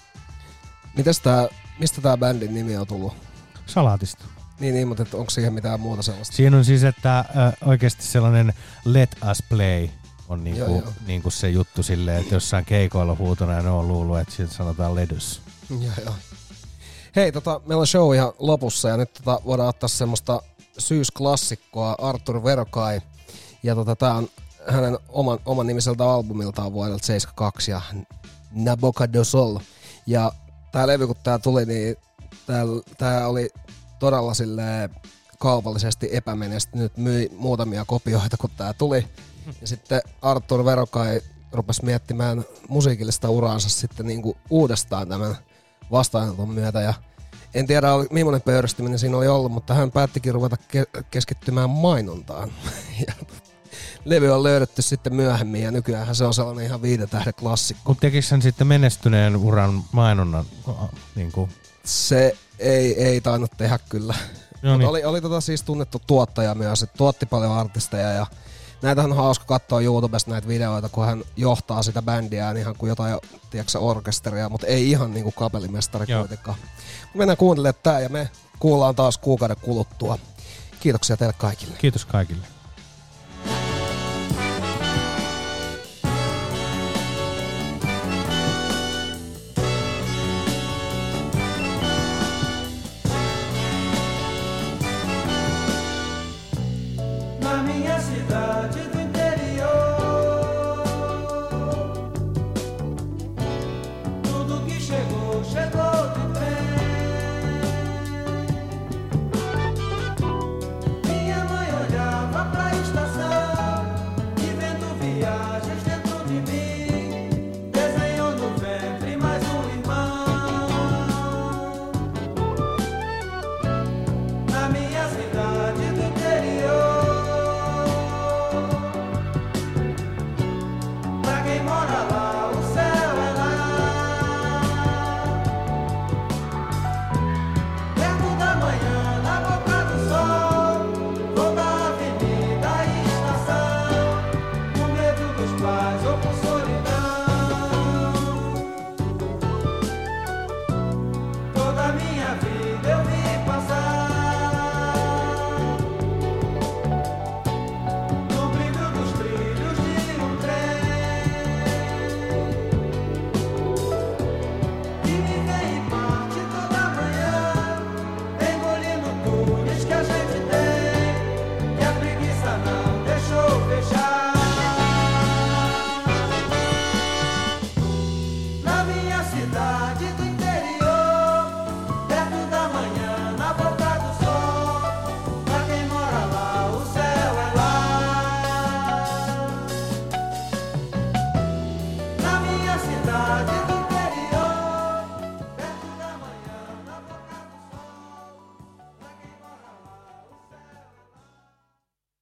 Mites tää, mistä tää bändin nimi on tullut? Salaatista. Niin, niin, mutta onko siihen mitään muuta sellaista? Siinä on siis, että äh, oikeasti sellainen Let Us Play on niinku, Joo, joo. niinku se juttu silleen, että jossain keikoilla huutona ja ne on luullut, että siitä sanotaan Ledys. Joo, joo. Hei, tota, meillä on show ihan lopussa ja nyt tota, voidaan ottaa semmoista syysklassikkoa Arthur Verocai. Ja tota, tää on hänen oman, oman nimiseltä albumiltaan vuodelta seitsemänkymmentäkaksi ja Naboca do Sol. Ja tää levy, kun tää tuli, niin tää, tää oli todella silleen kaupallisesti epämenestynyt, myi muutamia kopioita, kun tää tuli. Ja sitten Arthur Verocai rupesi miettimään musiikillista uraansa sitten niinku uudestaan tämän vastaanoton myötä. Ja en tiedä, millainen pöyristyminen siinä oli ollut, mutta hän päättikin ruveta ke- keskittymään mainontaan. Ja levy on löydetty sitten myöhemmin ja nykyään se on sellainen ihan viiden tähden klassikko. Mutta tekikö hän sitten menestyneen uran mainonnan? Niin kuin? Se ei, ei tainnut tehdä kyllä. No niin. Oli, oli tota siis tunnettu tuottaja myös, että tuotti paljon artisteja ja näitähän on hauska katsoa YouTubesta näitä videoita, kun hän johtaa sitä bändiään ihan kuin jotain, tiedätkö, orkesteria, mutta ei ihan niin kuin kapellimestari kuitenkaan. Mennään kuuntelemaan tää ja me kuullaan taas kuukauden kuluttua. Kiitoksia teille kaikille. Kiitos kaikille.